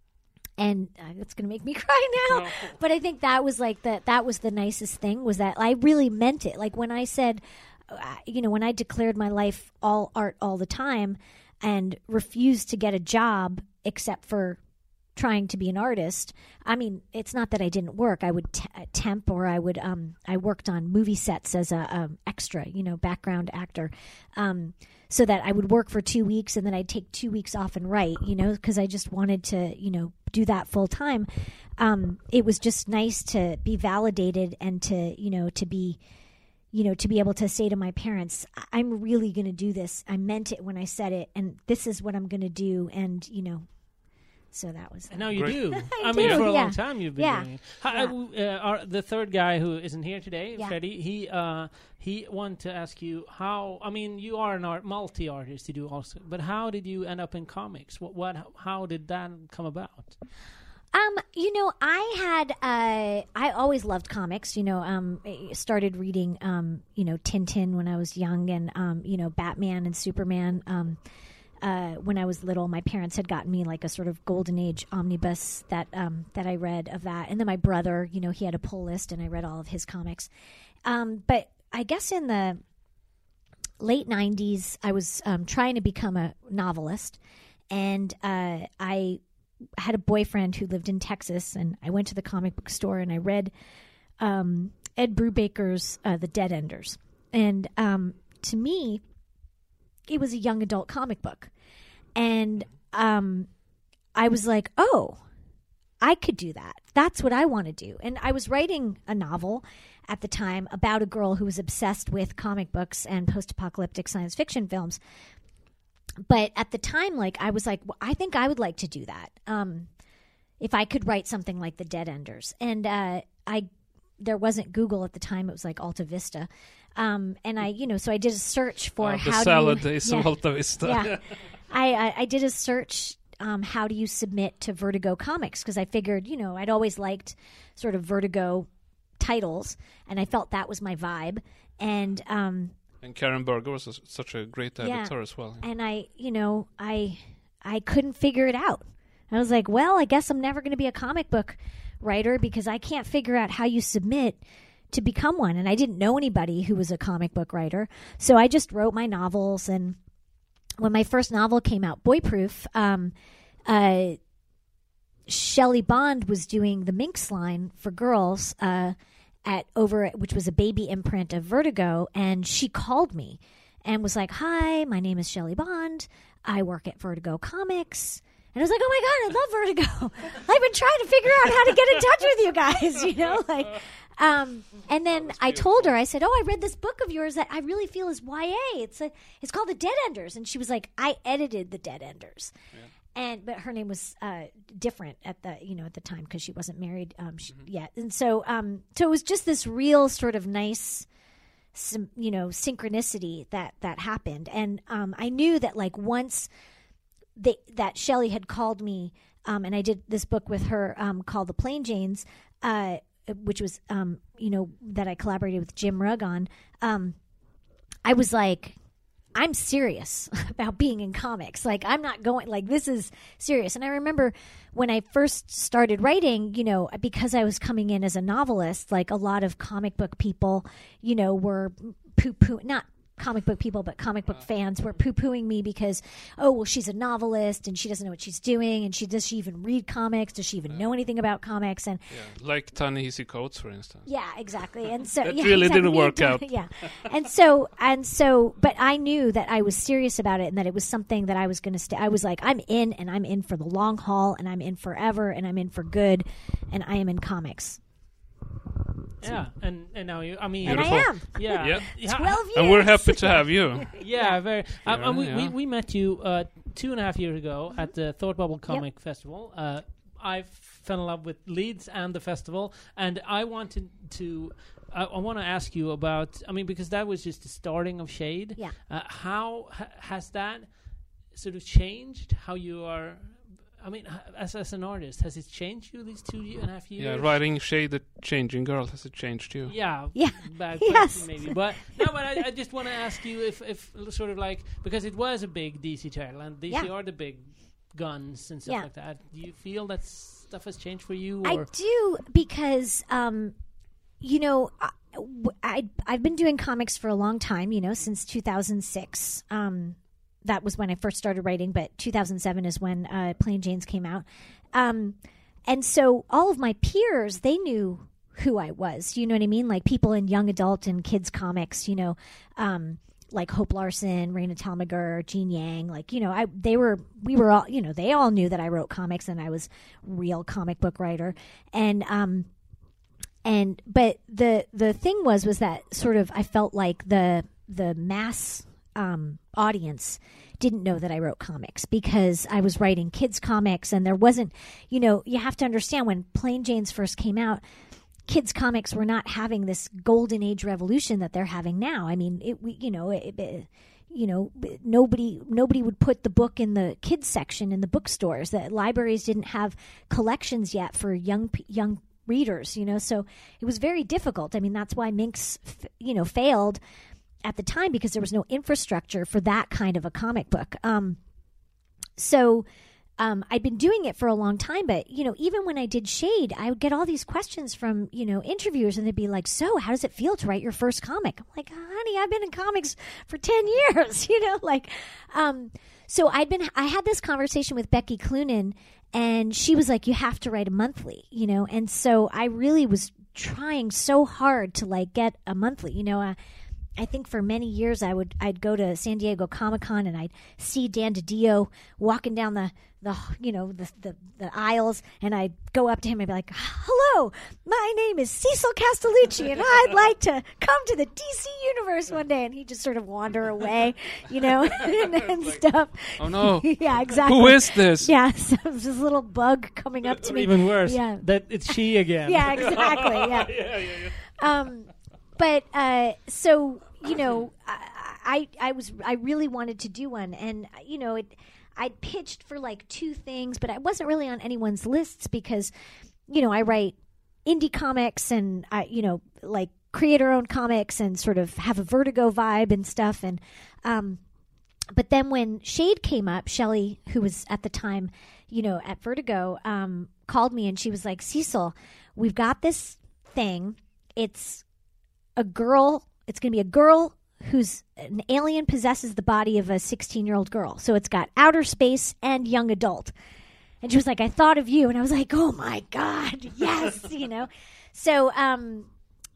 and uh, it's going to make me cry now. No. But I think that was like the, that was the nicest thing, was that I really meant it. Like when I said, uh, you know, when I declared my life all art all the time, and refused to get a job except for trying to be an artist. I mean, it's not that I didn't work. I would t- temp, or I would, um, I worked on movie sets as a um, extra, you know, background actor, um, so that I would work for two weeks and then I'd take two weeks off and write, you know, because I just wanted to, you know, do that full time. Um, it was just nice to be validated and to, you know, to be, you know, to be able to say to my parents, I'm really going to do this. I meant it when I said it, and this is what I'm going to do. And, you know, so that was. And now you Great. do. I I mean, do, for a yeah. long time you've been Yeah. doing it. How, uh, our, the third guy who isn't here today, Yeah. Freddie, he uh, he wanted to ask you how. I mean, you are an art multi-artist. You do also, but how did you end up in comics? What what? How did that come about? Um, you know, I had, uh, I always loved comics, you know, um, I started reading, um, you know, Tintin when I was young, and, um, you know, Batman and Superman, um, uh, when I was little. My parents had gotten me like a sort of golden age omnibus that, um, that I read of that. And then my brother, you know, he had a pull list and I read all of his comics. Um, but I guess in the late nineties, I was, um, trying to become a novelist, and, uh, I had a boyfriend who lived in Texas, and I went to the comic book store and I read um, Ed Brubaker's uh, The Dead Enders. And um, to me, it was a young adult comic book. And um, I was like, oh, I could do that. That's what I want to do. And I was writing a novel at the time about a girl who was obsessed with comic books and post-apocalyptic science fiction films. But at the time, like, I was like, well, I think I would like to do that. Um, if I could write something like the Dead Enders. And uh, I there wasn't Google at the time; it was like Alta Vista. Um, and I, you know, so I did a search for uh, how the do salad you, is yeah, Alta Vista. Yeah, I, I I did a search. Um, how do you submit to Vertigo Comics? Because I figured, you know, I'd always liked sort of Vertigo titles, and I felt that was my vibe. And um, and Karen Berger was a, such a great editor yeah, as well. And I, you know, I I couldn't figure it out. I was like, well, I guess I'm never going to be a comic book writer because I can't figure out how you submit to become one. And I didn't know anybody who was a comic book writer, so I just wrote my novels. And when my first novel came out, Boyproof, um, uh, Shelley Bond was doing the Minx line for girls uh, at over, which was a baby imprint of Vertigo, and she called me and was like, "Hi, my name is Shelley Bond. I work at Vertigo Comics." And I was like, "Oh my God, I love Vertigo. I've been trying to figure out how to get in touch with you guys, you know, like." Um, and then I told her, I said, "Oh, I read this book of yours that I really feel is Y A. It's a, it's called The Dead Enders." And she was like, "I edited The Dead Enders." Yeah. And, but her name was, uh, different at the, you know, at the time because she wasn't married, um, she, mm-hmm. yet. And so, um, so it was just this real sort of nice, some, you know, synchronicity that, that happened. And, um, I knew that like once they, that Shelley had called me, um, and I did this book with her, um, called The Plain Janes, uh, which was, um, you know, that I collaborated with Jim Rugg on, um, I was like, I'm serious about being in comics. Like, I'm not going, like, this is serious. And I remember when I first started writing, you know, because I was coming in as a novelist, like a lot of comic book people, you know, were poo-poo, not comic book people, but comic book fans were poo-pooing me because, oh, well, she's a novelist and she doesn't know what she's doing. And she does she even read comics? Does she even uh, know anything about comics? And yeah, like Ta-Nehisi Coates, for instance. Yeah, exactly. And so that yeah, really exactly. didn't work out. Yeah, and so and so, but I knew that I was serious about it and that it was something that I was going to stay. I was like, I'm in, and I'm in for the long haul, and I'm in forever, and I'm in for good, and I am in comics. Yeah, and, and now you, I mean, and I am. Yeah, yeah. yeah. twelve years. And we're happy to have you. Yeah, very. Yeah, um, and we, yeah. we we met you uh, two and a half years ago mm-hmm. at the Thought Bubble Comic yep. Festival. Uh, I fell in love with Leeds and the festival, and I wanted to. I, I want to ask you about. I mean, because that was just the starting of Shade. Yeah. Uh, how ha- has that sort of changed how you are? I mean, as as an artist, has it changed you these two and a half years? Yeah, writing Shade, the Changing Girl, has it changed you? Yeah, yeah, bad yes. question maybe, but no, but I, I just want to ask you if, if sort of like because it was a big D C title and D C yeah. are the big guns and stuff yeah. like that. Do you feel that stuff has changed for you? Or? I do because, um, you know, I, I I've been doing comics for a long time. You know, since two thousand six. Um, That was when I first started writing, but two thousand seven is when uh, Plain Janes came out. Um, and so all of my peers, they knew who I was. You know what I mean? Like people in young adult and kids comics, you know, um, like Hope Larson, Raina Telgemeier, Gene Yang. Like, you know, I they were, we were all, you know, they all knew that I wrote comics and I was a real comic book writer. And, um, and, but the, the thing was, was that sort of, I felt like the, the mass Um, audience didn't know that I wrote comics because I was writing kids comics and there wasn't, you know, you have to understand when Plain Janes first came out, kids comics were not having this golden age revolution that they're having now. I mean, it, we, you know, it, it, you know, nobody, nobody would put the book in the kids section in the bookstores. The libraries didn't have collections yet for young, young readers, you know, so it was very difficult. I mean, that's why Minx, you know, failed at the time because there was no infrastructure for that kind of a comic book. Um, so um, I'd been doing it for a long time, but, you know, even when I did Shade, I would get all these questions from, you know, interviewers and they'd be like, so how does it feel to write your first comic? I'm like, honey, I've been in comics for ten years, you know, like, um, so I'd been, I had this conversation with Becky Cloonan and she was like, you have to write a monthly, you know? And so I really was trying so hard to like get a monthly, you know, uh, I think for many years I would I'd go to San Diego Comic-Con and I'd see Dan DiDio walking down the, the you know the, the the aisles, and I'd go up to him and be like, "Hello, my name is Cecil Castellucci, and I'd like to come to the D C universe one day." And he'd just sort of wander away, you know, and, and stuff. Oh no! Yeah, exactly. Who is this? Yeah, so it was this little bug coming up to Or me. even worse, Yeah. that it's she again. Yeah, exactly. Yeah. yeah, yeah, yeah. Um, but uh, so you know, I, I I was I really wanted to do one, and you know, it I pitched for like two things, but I wasn't really on anyone's lists because, you know, I write indie comics and I you know like creator-owned comics and sort of have a Vertigo vibe and stuff, and um, but then when Shade came up, Shelley, who was at the time, you know, at Vertigo, um, called me and she was like, "Cecil, we've got this thing. It's a girl. It's going to be a girl who's an alien possesses the body of a sixteen-year-old girl. So it's got outer space and young adult." And she was like, "I thought of you." And I was like, "Oh my God, yes," you know. So, um,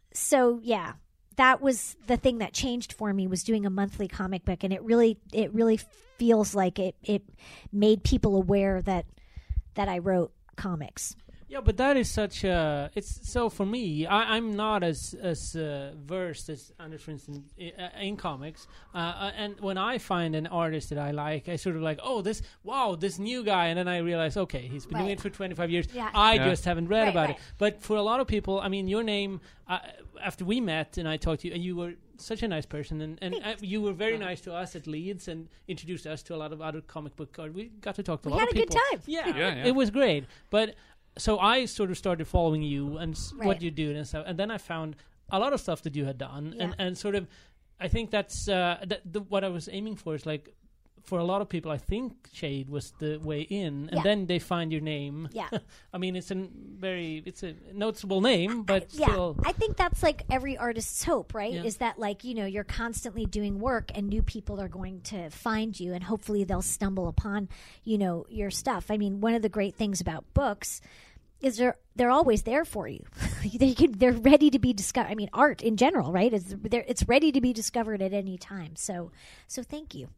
so yeah, that was the thing that changed for me, was doing a monthly comic book, and it really, it really feels like it, it made people aware that that I wrote comics. Yeah, but that is such a. It's so for me. I, I'm not as as uh, versed as Anders, for instance, in, uh, in comics. Uh, uh, and when I find an artist that I like, I sort of like, oh, this wow, this new guy, and then I realize, okay, he's been Right. doing it for twenty-five years. Yeah. I Yeah. just haven't read Right, about right. it. But for a lot of people, I mean, your name. Uh, after we met and I talked to you, and you were such a nice person, and, and uh, you were very nice to us at Leeds and introduced us to a lot of other comic book artists. We got to talk to a We lot had of a good people. time. Yeah, Yeah, yeah. it was great. But so I sort of started following you and s- Right. what you do and stuff, and then I found a lot of stuff that you had done, and, Yeah. and sort of, I think that's uh, th- the, what I was aiming for is like, for a lot of people, I think Shade was the way in, and Yeah. then they find your name. Yeah. I mean, it's a very, it's a noticeable name, but yeah, still, I think that's like every artist's hope, right? Yeah. Is that like, you know, you're constantly doing work and new people are going to find you and hopefully they'll stumble upon, you know, your stuff. I mean, one of the great things about books is they're they're always there for you. they can, they're ready to be discovered. I mean, art in general, right? It's they're- it's ready to be discovered at any time. So so thank you.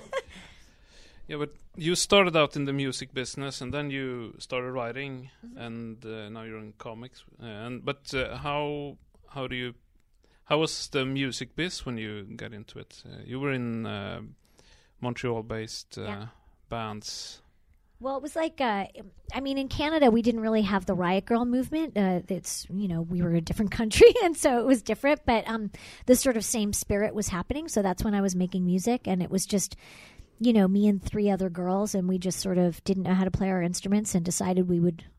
Yeah, but you started out in the music business, and then you started writing, and uh, now you're in comics. Uh, and but uh, how how do you how was the music biz when you got into it? Uh, you were in uh, Montreal-based uh, Yeah. bands. Well, it was like, uh, I mean, in Canada, we didn't really have the Riot Girl movement. Uh, it's, you know, we were a different country, and so it was different. But um, the sort of same spirit was happening. So that's when I was making music, and it was just, you know, me and three other girls, and we just sort of didn't know how to play our instruments and decided we would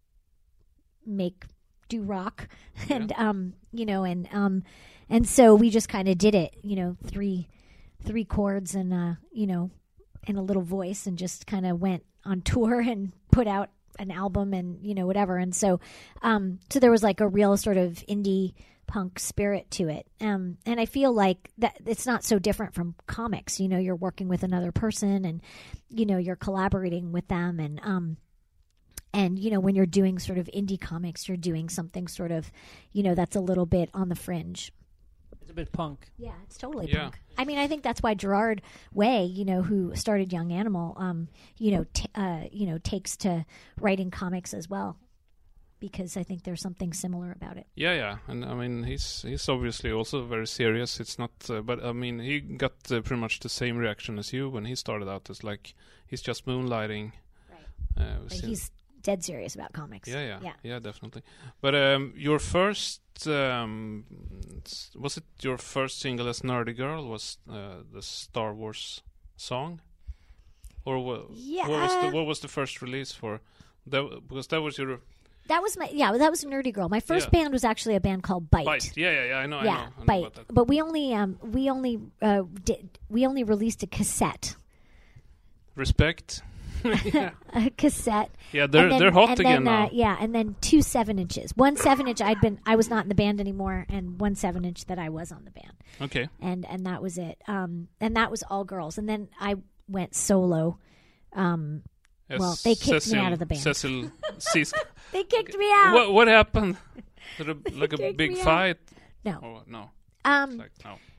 make, do rock. and, um, you know, and, um, and so we just kind of did it, you know, three, three chords and, uh, you know, and a little voice, and just kind of went on tour and put out an album and, you know, whatever. And so, um, so there was like a real sort of indie punk spirit to it. Um, and I feel like that it's not so different from comics. You know, you're working with another person and, you know, you're collaborating with them. And, um, and, you know, when you're doing sort of indie comics, you're doing something sort of, you know, that's a little bit on the fringe. it's a bit punk. Yeah, it's totally Yeah. punk. I mean, I think that's why Gerard Way, you know, who started Young Animal, um, you know, t- uh, you know, takes to writing comics as well, because I think there's something similar about it. Yeah, yeah, and I mean he's he's obviously also very serious. It's not, uh, but I mean he got uh, pretty much the same reaction as you when he started out. As like he's just moonlighting. Right. Uh, But since- he's dead serious about comics. yeah, yeah, yeah. yeah, definitely. But um, your first um, s- was it your first single as Nerdy Girl was uh, the Star Wars song, or what? Yeah. What was the what was the first release for? That because that was your That was my yeah. That was Nerdy Girl. My first Yeah. band was actually a band called Bite. Bite. Yeah, yeah, yeah. I know. I Yeah, know. I know Bite. about that. But we only um we only uh did we only released a cassette, Respect. a cassette. Yeah, they're And then- they're hot and again then, uh, now. yeah, and then two seven inches. One seven inch. I'd been I was not in the band anymore, and one seven inch that I was on the band, Okay. and and that was it. Um, and that was all girls. And then I went solo. Um, Yes, Well, they kicked me Cecil, out of the band. Cecil Cisk. they kicked me out. What what happened? Did a, like a kicked big me out. fight? No. Or what? No. Um, Like no.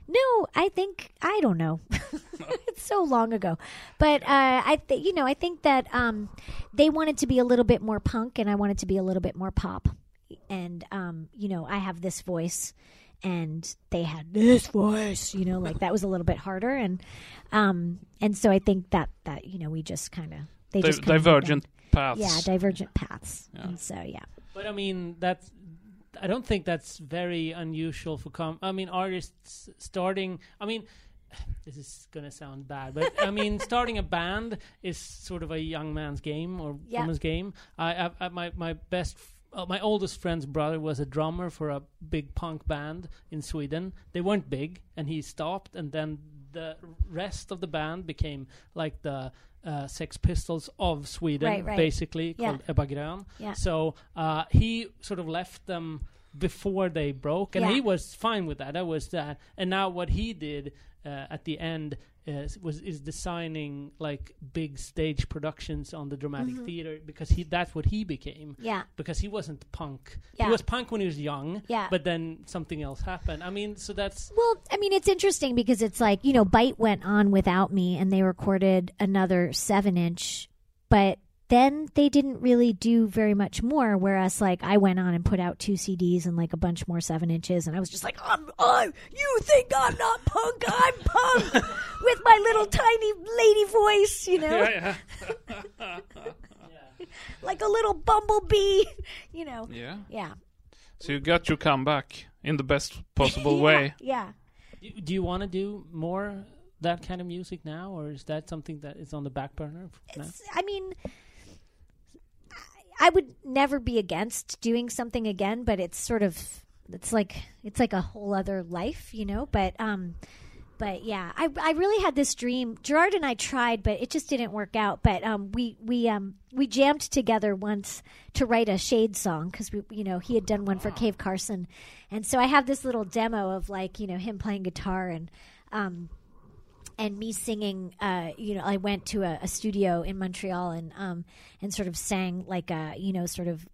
No, I think I don't know. It's so long ago, but uh, I th- you know I think that um, they wanted to be a little bit more punk, and I wanted to be a little bit more pop. And um, you know, I have this voice, and they had this voice. You know, like that was a little bit harder, and um, and so I think that that you know we just kind of they Di- just kinda divergent paths. Yeah, divergent paths, Yeah. and so yeah. But I mean, that's. I don't think that's very unusual for com. I mean, artists starting. I mean, this is gonna sound bad, but I mean, starting a band is sort of a young man's game or Yeah. woman's game. I, I, I my my best. Uh, my oldest friend's brother was a drummer for a big punk band in Sweden. They weren't big, and he stopped, and then the rest of the band became like the uh, Sex Pistols of Sweden, Right, right. basically, Yeah. called Ebba Grön. Yeah. So uh, he sort of left them before they broke, and Yeah. he was fine with that. That was that. And now what he did uh, at the end is, was is designing like big stage productions on the dramatic theater, because he that's what he became. Yeah. Because he wasn't punk. Yeah. He was punk when he was young. Yeah. But then something else happened. I mean, so that's Well, I mean, it's interesting because it's like, you know, Bite went on without me and they recorded another seven inch, but then they didn't really do very much more. Whereas, like, I went on and put out two C Ds and like a bunch more seven inches, and I was just like, I'm, I, you think I'm not punk? I'm punk with my little tiny lady voice, you know, Yeah, yeah. like a little bumblebee, you know. Yeah. Yeah. So you got your comeback in the best possible Yeah, way. Yeah. do, do you want to do more that kind of music now, or is that something that is on the back burner now? It's, I mean, I would never be against doing something again, but it's sort of, it's like, it's like a whole other life, you know, but, um, but yeah, I, I really had this dream. Gerard and I tried, but it just didn't work out. But um, we we um we jammed together once to write a Shade song, because we you know he had done one for Cave Carson, and so I have this little demo of like you know him playing guitar and um and me singing. Uh, you know, I went to a, a studio in Montreal and um and sort of sang like a you know sort of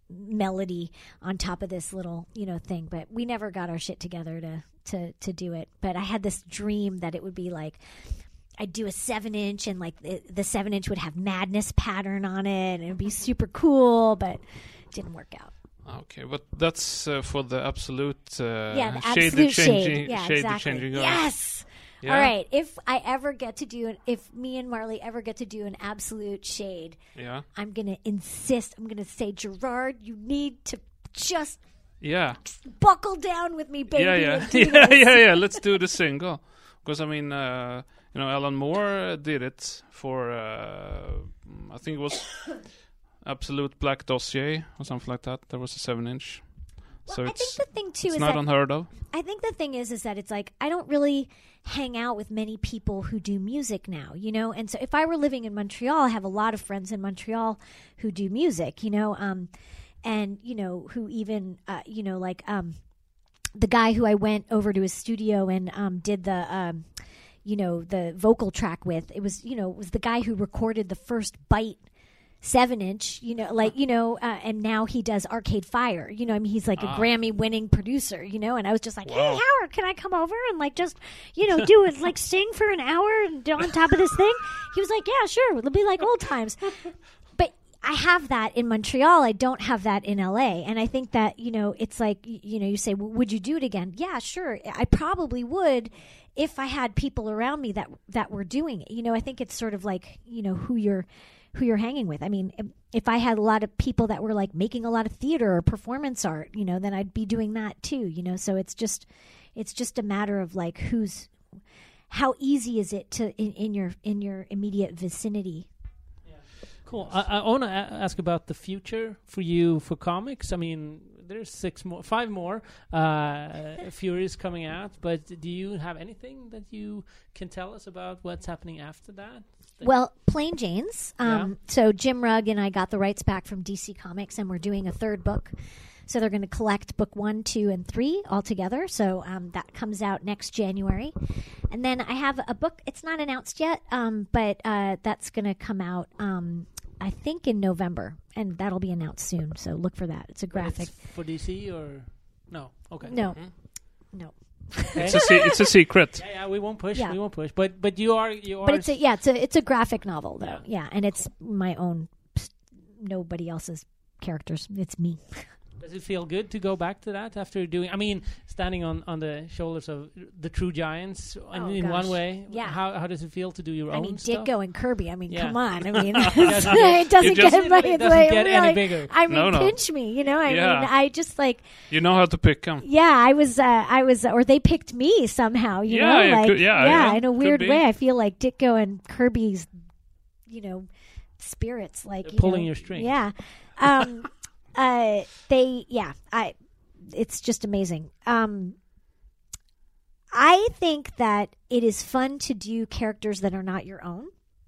melody on top of this little you know thing, but we never got our shit together to to to do it. But I had this dream that it would be like I'd do a seven inch and like the, the seven inch would have Madness pattern on it and it'd be super cool, but it didn't work out. Okay, but that's uh, for the absolute uh, Yeah, the shade absolute changing, shade. Yeah, shade exactly. changing. girl. Yes. Yeah? All right. If I ever get to do an, if me and Marley ever get to do an absolute shade, Yeah. I'm gonna insist. I'm gonna say, Gerard, you need to just Yeah. buckle down with me, baby. Yeah, yeah, and do yeah, this. yeah, yeah. Let's do the single, because I mean, uh, you know, Alan Moore did it for, uh, I think it was Absolute Black Dossier or something like that. There was a seven inch, Well, so I it's think the thing too it's is not that unheard of. I think the thing is is that it's like I don't really hang out with many people who do music now, you know. And so if I were living in Montreal, I have a lot of friends in Montreal who do music, you know, um, and you know who even uh, you know like um, the guy who I went over to his studio and um, did the um, you know the vocal track with. It was you know it was the guy who recorded the first Bite seven inch, you know, like, you know, uh, and now he does Arcade Fire, you know, I mean, he's like Ah. a Grammy winning producer, you know, and I was just like, Wow. hey, Howard, can I come over and like just, you know, do it, like sing for an hour and do on top of this thing? He was like, yeah, sure. It'll be like old times. But I have that in Montreal. I don't have that in L A. And I think that, you know, it's like, y- you know, you say, well, would you do it again? Yeah, sure. I probably would if I had people around me that, that were doing it. You know, I think it's sort of like, you know, who you're, who you're hanging with. I mean, if, if I had a lot of people that were like making a lot of theater or performance art, you know, then I'd be doing that too, you know? So it's just, it's just a matter of like, who's, how easy is it to, in, in your, in your immediate vicinity? Cool. I, I want to a- ask about the future for you for comics. I mean, there's six more, five more uh, Furies coming out, but do you have anything that you can tell us about what's happening after that? Well, Plain Janes. Um, So Jim Rugg and I got the rights back from D C Comics, and we're doing a third book. So they're going to collect book one, two, and three all together. So um, that comes out next January. And then I have a book. It's not announced yet, um, but uh, that's going to come out, um, I think, in November. And that'll be announced soon. So look for that. It's a But graphic. it's for D C or no? Okay. No. Mhm. No. Okay? It's a se- it's a secret. Yeah, yeah, we won't push. Yeah. We won't push. But but you are you are. But it's a yeah, it's a it's a graphic novel though. Yeah, and it's my own, nobody else's characters. It's me. Does it feel good to go back to that after doing? I mean, standing on, on the shoulders of the true giants in, Oh, in gosh. one way. Yeah. How how does it feel to do your I own mean, stuff? Ditko and Kirby. I mean, Yeah. come on. I mean, doesn't it doesn't just- get, my, it doesn't like, get any really- bigger. I mean, No, no. pinch me. You know, I Yeah. mean, I just like. You know how to pick them. Yeah, I was, uh, I was, or they picked me somehow. You Yeah, know, it like could- yeah, yeah, in a could weird be. way. I feel like Ditko and Kirby's, you know, spirits, like They're you pulling know, your strings. Yeah, um, uh, they, yeah, I. It's just amazing. Um, I think that it is fun to do characters that are not your own.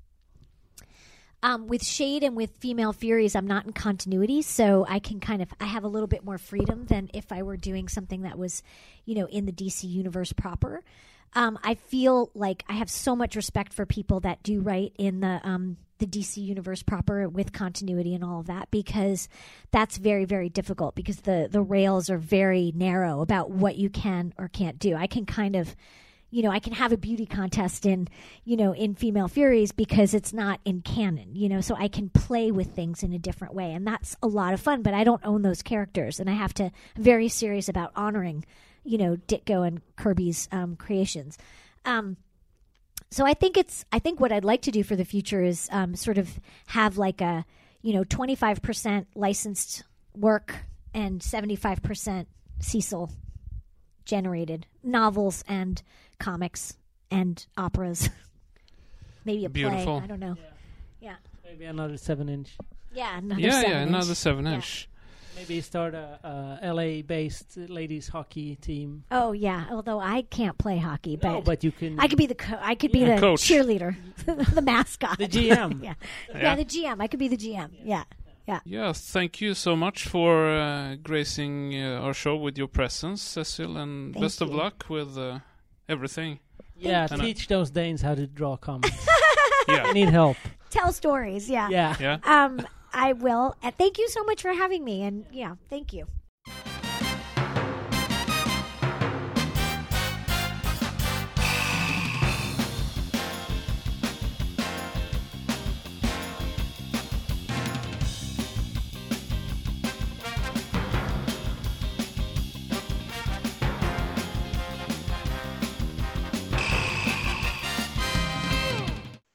Um, with Shade and with Female Furies, I'm not in continuity, so I can kind of I have a little bit more freedom than if I were doing something that was, you know, in the D C universe proper. Um, I feel like I have so much respect for people that do write in the um, the D C universe proper with continuity and all of that, because that's very, very difficult because the the rails are very narrow about what you can or can't do. I can kind of, you know, I can have a beauty contest in, you know, in Female Furies because it's not in canon, you know, so I can play with things in a different way. And that's a lot of fun, but I don't own those characters. And I have to, I'm very serious about honoring, you know, Ditko and Kirby's um, creations. Um, so I think it's, I think what I'd like to do for the future is um, sort of have like a, you know, twenty-five percent licensed work and seventy-five percent Cecil generated novels and comics and operas. Maybe a Beautiful. play. I don't know. Yeah. Maybe another seven inch. Yeah. Another Yeah, seven yeah, inch. another seven Yeah. inch. Maybe start a, a L A based ladies hockey team. Oh yeah. Although I can't play hockey, but, No, but you can. I could be the co- I could be Yeah. the Coach. cheerleader, the mascot, The G M. yeah. yeah, Yeah. the G M. I could be the G M. Yeah, yeah. Yeah, thank you so much for uh, gracing uh, our show with your presence, Cecil, and Thank best of you. luck with uh, everything. Yeah, Thank you. teach those Danes how to draw comics. Yeah, I need help. Tell stories. Yeah. Yeah. yeah. Um, I will. Uh, thank you so much for having me, and yeah, thank you.